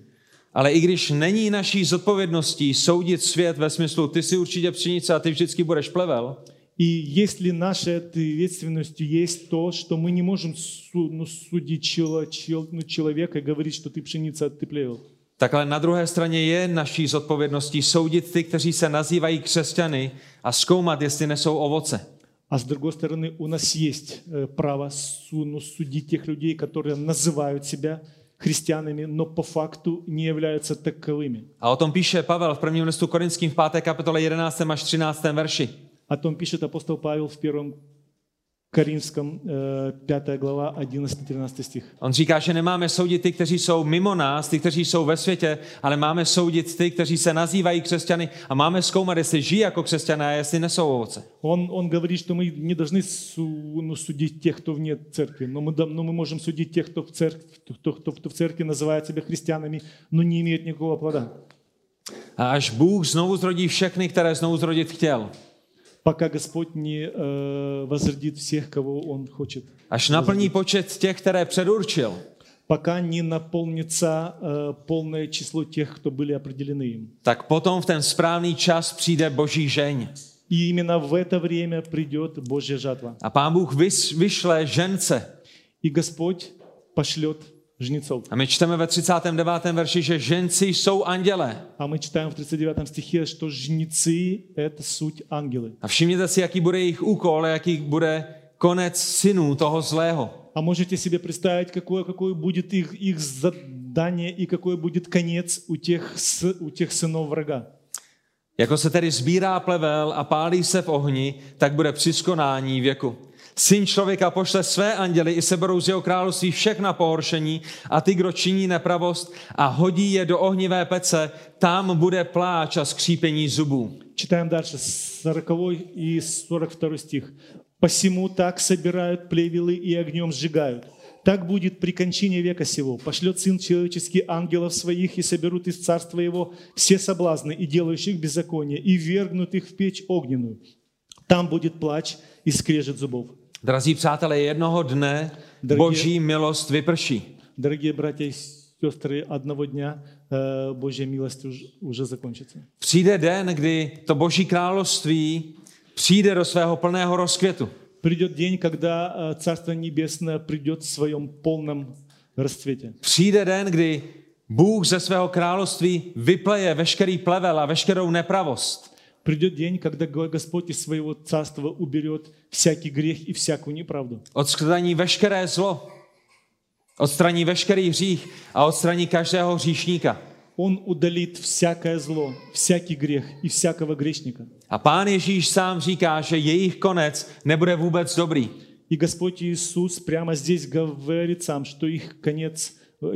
Speaker 1: Ale i když není naší zodpovědností soudit svět ve smyslu ty si určitě pšenice a ty vždycky budeš plevel,
Speaker 2: И если нашей ответственностью есть то, что мы не можем судить человека и говорить, что ты пшеница, а ты плевел.
Speaker 1: tak ale na druhé straně je naší zodpovědností soudit ty, kteří se nazývají křesťany a zkoumat, jestli nesou ovoce.
Speaker 2: А с другой стороны, у нас есть право судить тех людей, которые называют себя христианами, но по факту не являются таковыми.
Speaker 1: A o tom píše Pavel v prvním listu Korinským v 5. kapitole 11. až 13. verši.
Speaker 2: О том пишет апостол Павел в 1 Коринфском, 5 глава, 11-13 стих.
Speaker 1: On říká, že nemáme soudit ty, kteří jsou mimo nás, ty, kteří jsou ve světě, ale máme soudit ty, kteří se nazývají křesťany a máme zkoumat, jestli žijí jako křesťané a jestli nesou ovoce.
Speaker 2: Он говорит, что мы не должны судить тех, кто вне церкви, но мы можем судить тех, кто в церкви называет себя христианами, но не имеет никакого плода.
Speaker 1: A až Bůh znovu zrodí všechny, které znovu zrodit chtěl,
Speaker 2: Пока Господь не возродит всех, kого Он хочет.
Speaker 1: až naplní počet těch, které předurčil,
Speaker 2: Пока не наполнится полное число тех, кто были определены им.
Speaker 1: tak potom v ten správný čas přijde Boží žeň.
Speaker 2: И именно в это время придет Божья жатва.
Speaker 1: A Pán Bůh vyšle žence.
Speaker 2: И Господь пошлет жнецов.
Speaker 1: A my čteme ve 39. verši, že ženci jsou andělé.
Speaker 2: А мы читаем в 39 стихе, что жнецы – это суть ангелы.
Speaker 1: A všimněte si, jaký bude jejich úkol, jaký bude konec synů toho zlého.
Speaker 2: А можете себе представить, какое будет их задание и какой будет конец у тех сынов врага?
Speaker 1: Jako se tedy sbírá plevel a pálí se v ohni, tak bude při skonání věku. Syn člověka pošle své anděly i seberou z jeho království všechna pohoršení a ty, kdo činí nepravost a hodí je do ohnivé pece, tam bude pláč a skřípení zubů.
Speaker 2: Читаем дальше, 40 и 42 стих. «Посему так собирают плевелы и огнем сжигают. Так будет при кончине века сего. Пошлет Сын Человеческий ангелов своих, и соберут из царства Его все соблазны и делающих беззаконие, и вергнут их в печь огненную. Там будет плач и скрежет зубов».
Speaker 1: Drazí přátelé, jednoho dne Boží milost vyprší.
Speaker 2: Дорогие братья и сестры, одного дня Божья милость уже закончится.
Speaker 1: Přijde den, kdy to Boží království přijde do svého plného rozkvětu.
Speaker 2: Придет день, когда Царство Небесное придет в своем полном расцвете.
Speaker 1: Přijde den, kdy Bůh ze svého království vypleje veškerý plevel a veškerou nepravost.
Speaker 2: Придет день, когда Господь из своего царства уберет всякий грех и всякую неправду.
Speaker 1: Odstraní veškeré zlo, odstraní veškerý hřích a odstraní každého hříšníka.
Speaker 2: Он удалит всякое зло, всякий грех и всякого грешника.
Speaker 1: A Pán Ježíš sám říká, že jejich konec nebude vůbec dobrý.
Speaker 2: И Господь Иисус прямо здесь говорит сам, что их конец,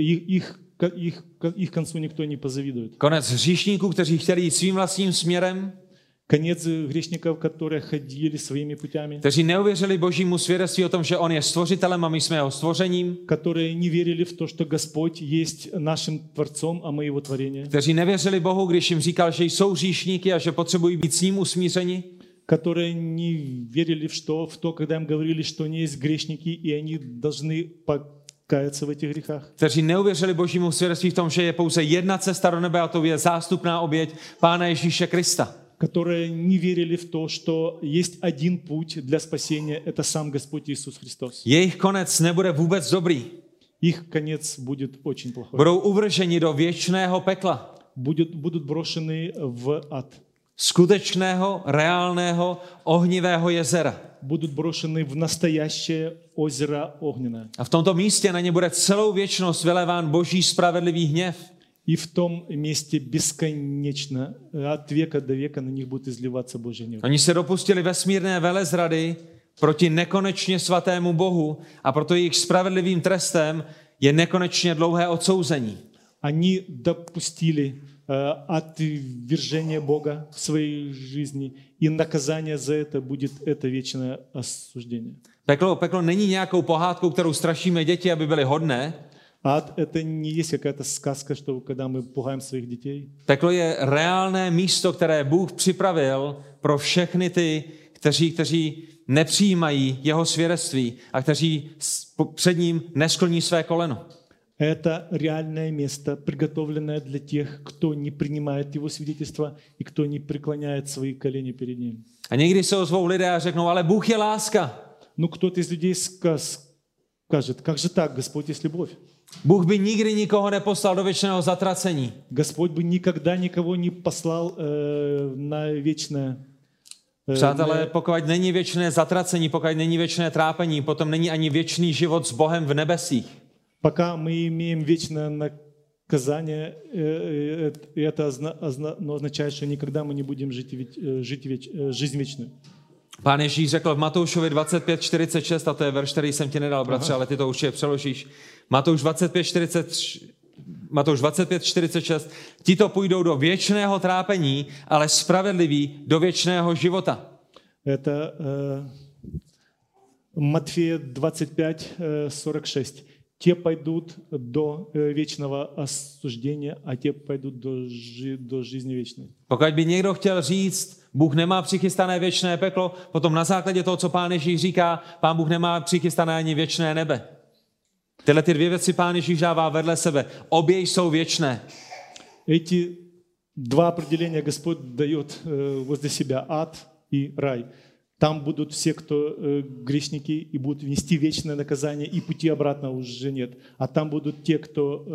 Speaker 2: их концу никто не позавидует.
Speaker 1: Konec hříšníků, kteří chtěli jít svým vlastním směrem,
Speaker 2: Конец грешников, которые ходили своими путями,
Speaker 1: kteří neuvěřili Božímu svědectví o tom, že on je stvořitelem a my jsme jeho stvořením,
Speaker 2: которые не верили в то, что Господь есть нашим Творцом, а мы Его творение,
Speaker 1: kteří nevěřili Bohu, když jim říkal, že jsou hříšníky a že potřebují být s ním usmířeni,
Speaker 2: которые не верили в то, когда им говорили, что они есть грешники, и они должны покаяться в этих грехах.
Speaker 1: Kteří neuvěřili Božímu svědectví v tom, že je pouze jedna cesta do nebe a to je zástupná oběť Pána Ježíše Krista.
Speaker 2: Которые не верили в то, что есть один путь для спасения, это сам Господь Иисус Христос.
Speaker 1: Jejich konec nebude vůbec dobrý.
Speaker 2: Их конец будет очень плохой.
Speaker 1: Budou uvrženi do věčného pekla.
Speaker 2: Будут брошены в ад.
Speaker 1: Skutečného, reálného, ohnivého jezera.
Speaker 2: Будут брошены в настоящее озеро огненное.
Speaker 1: A v tomto místě na ně bude celou věčnost vyléván Boží spravedlivý hněv.
Speaker 2: И в том месте бесконечно, от века до века на них будет изливаться Божий гнев.
Speaker 1: Oni se dopustili vesmírné velezrady proti nekonečně svatému Bohu a proto jejich spravedlivým trestem je nekonečně dlouhé odsouzení.
Speaker 2: Они допустили отвержение Бога в своей жизни, и наказание за это будет это вечное осуждение.
Speaker 1: Peklo není nějakou pohádkou, kterou strašíme děti, aby byly hodné.
Speaker 2: Ад – это не есть какая-то сказка, что когда мы пугаем своих детей.
Speaker 1: Peklo je reálné místo, které Bůh připravil pro všechny ty, kteří nepřijímají jeho svědectví a kteří před ním neskloní své koleno.
Speaker 2: Это реальное место, приготовленное для тех, кто не принимает его свидетельство и кто не преклоняет свои колени перед ним.
Speaker 1: A někdy se ozvou lidé a řeknou, ale Bůh je láska.
Speaker 2: Ну, кто-то из людей скажет, как же так, Господь есть любовь?
Speaker 1: Bůh by nikdy nikoho neposlal do věčného zatracení.
Speaker 2: Господь бы никогда никого не послал на вечное.
Speaker 1: Přátelé, pokud není věčné zatracení, pokud není věčné trápení, potom není ani věčný život s Bohem v nebesích.
Speaker 2: Пока мы имеем вечное наказание, это означает, что никогда мы не будем жить жизнь вечную.
Speaker 1: Pán Ježíš řekl v Matoušovi 25:46, a to je verš, který jsem ti nedal, bratře, ale ty to určitě přeložíš. Matouš 25:46, tito půjdou do věčného trápení, ale spravedliví do věčného života.
Speaker 2: Это Матфея 25:46. Те пойдут до вечного осуждения, а те пойдут до жизни вечной.
Speaker 1: Pokud by někdo chtěl říct, Bůh nemá přichystané věčné peklo, potom na základě toho, co Pán Ježíš říká, Pán Bůh nemá přichystané ani věčné nebe. Tyhle ty dvě věci Pán Ježíš dává vedle sebe. Obě jsou věčné.
Speaker 2: Эти два определения Господь дает возле себя: ад и рай. Там будут все, кто грешники, и будут нести вечное наказание, и пути обратно уже нет. А там будут те, кто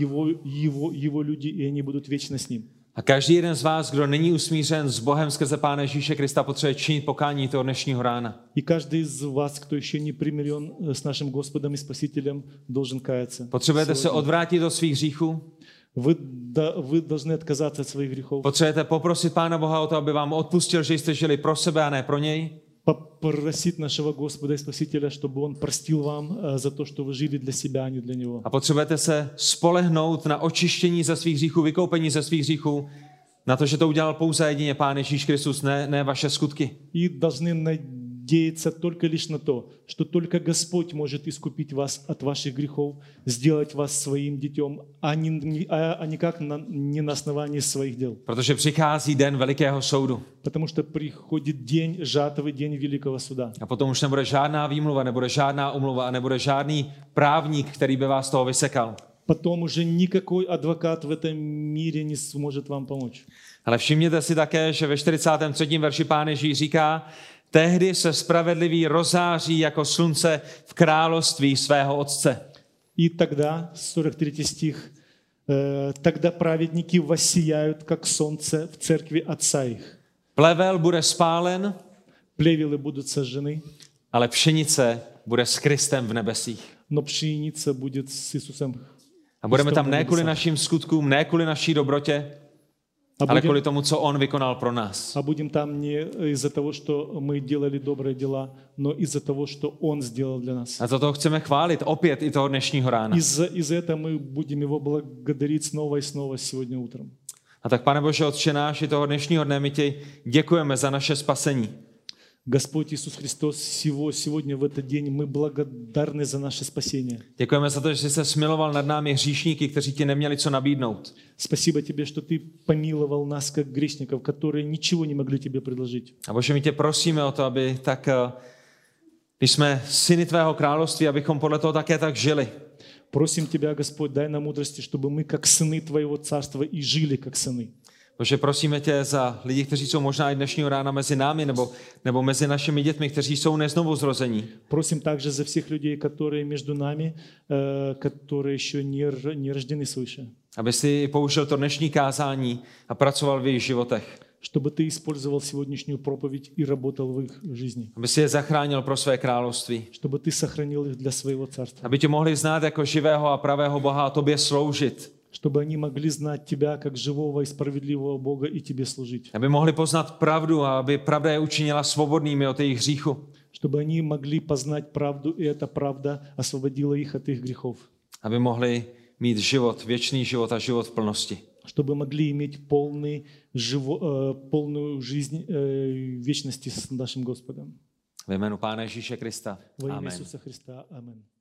Speaker 2: его люди, и они будут вечно с ним.
Speaker 1: A každý jeden z vás, kdo není usmířen s Bohem skrze Pána Ježíše Krista, potřebuje činit pokání toho dnešního rána.
Speaker 2: И каждый из вас, кто еще не примирен с нашим Господом и Спасителем, должен каяться.
Speaker 1: Potřebujete se odvrátit od svých hříchů.
Speaker 2: Вы должны отказаться от своих грехов.
Speaker 1: Potřebujete poprosit Pána Boha o to, aby vám odpustil, že jste žili pro sebe a ne pro něj.
Speaker 2: Попросить нашего Господа и Спасителя, чтобы Он простил vám за то, что вы жили для себя, а не для Него.
Speaker 1: A potřebujete se spolehnout na očištění ze svých hříchů, vykoupení ze svých hříchů, na to, že to udělal pouze jedině Pán Ježíš Kristus, ne vaše skutky.
Speaker 2: И должны надеяться только лишь на то, что только Господь может искупить вас от ваших грехов, сделать вас своим детем, а никак не на основании своих дел.
Speaker 1: Protože přichází den velikého soudu.
Speaker 2: Потому что приходит день жатвы, день великого суда.
Speaker 1: A potom už nebude žádná výmluva, nebude žádná umluva a nebude žádný právník, který by vás toho vysekal.
Speaker 2: Потом уже никакой адвокат в этом мире не сможет вам помочь.
Speaker 1: Ale všimněte si také, že ve 43. verši Pán Ježíš říká, tehdy se spravedlivý rozáří jako slunce v království svého Otce.
Speaker 2: И тогда, 43 стих, тогда праведники воссияют, как солнце в церкви Отца их.
Speaker 1: Plevel bude spálen,
Speaker 2: Плевелы будут сожжены,
Speaker 1: ale pšenice bude s Kristem v nebesích.
Speaker 2: но пшеница будет с Иисусом.
Speaker 1: A budeme tam ne kvůli našim skutkům, ne kvůli naší dobrotě, ale kvůli tomu, co on vykonal pro nás.
Speaker 2: А будем там не из-за того, что мы делали добрые дела, но из-за того, что Он сделал для нас.
Speaker 1: A za to chceme chválit opět i toho dnešního rána.
Speaker 2: Из-за этого мы будем Его благодарить снова и снова сегодня утром.
Speaker 1: A tak, Pane Bože, Otče náš, i toho dnešního dne my ti děkujeme za naše spasení.
Speaker 2: Господь Иисус Христос, сегодня в этот день мы благодарны за наше спасение.
Speaker 1: Děkujeme za to, že jsi se smiloval nad námi hříšníky, kteří ti neměli co nabídnout.
Speaker 2: Спасибо Тебе, что Ты помиловал нас, как грешников, которые ничего не могли Тебе предложить.
Speaker 1: A Bože, my tě prosíme o to, aby tak, když jsme syny tvého království, abychom podle toho také tak žili.
Speaker 2: Просим Тебя, Господь, дай нам мудрости, чтобы мы, как сыны Твоего царства, и жили, как сыны.
Speaker 1: Bože, prosíme tě za lidi, kteří jsou možná i dnešního rána mezi námi nebo mezi našimi dětmi, kteří jsou neznovu zrození.
Speaker 2: Просим также за всех людей, которые между нами, которые еще не рождены свыше.
Speaker 1: Aby si použil to dnešní kázání a pracoval v jejich životech.
Speaker 2: Чтобы Ты использовал сегодняшнюю проповедь и работал в их жизни.
Speaker 1: Aby si je zachránil pro své království.
Speaker 2: Чтобы Ты сохранил их для своего царства.
Speaker 1: Aby tě mohli znát jako živého a pravého Boha a tobě sloužit.
Speaker 2: Чтобы они могли знать Тебя как живого и справедливого Бога и Тебе служить.
Speaker 1: Aby mohli poznat pravdu a aby pravda je učinila svobodnými od jejich hříchu.
Speaker 2: Чтобы они могли познать правду, и эта правда освободила их от их грехов.
Speaker 1: Aby mohli mít život, věčný život a život v plnosti.
Speaker 2: Чтобы могли иметь полную жизнь вечности с нашим Господом.
Speaker 1: Ve jménu Pána Ježíše Krista.
Speaker 2: Во имя
Speaker 1: Amen.
Speaker 2: Иисуса Христа. Аминь.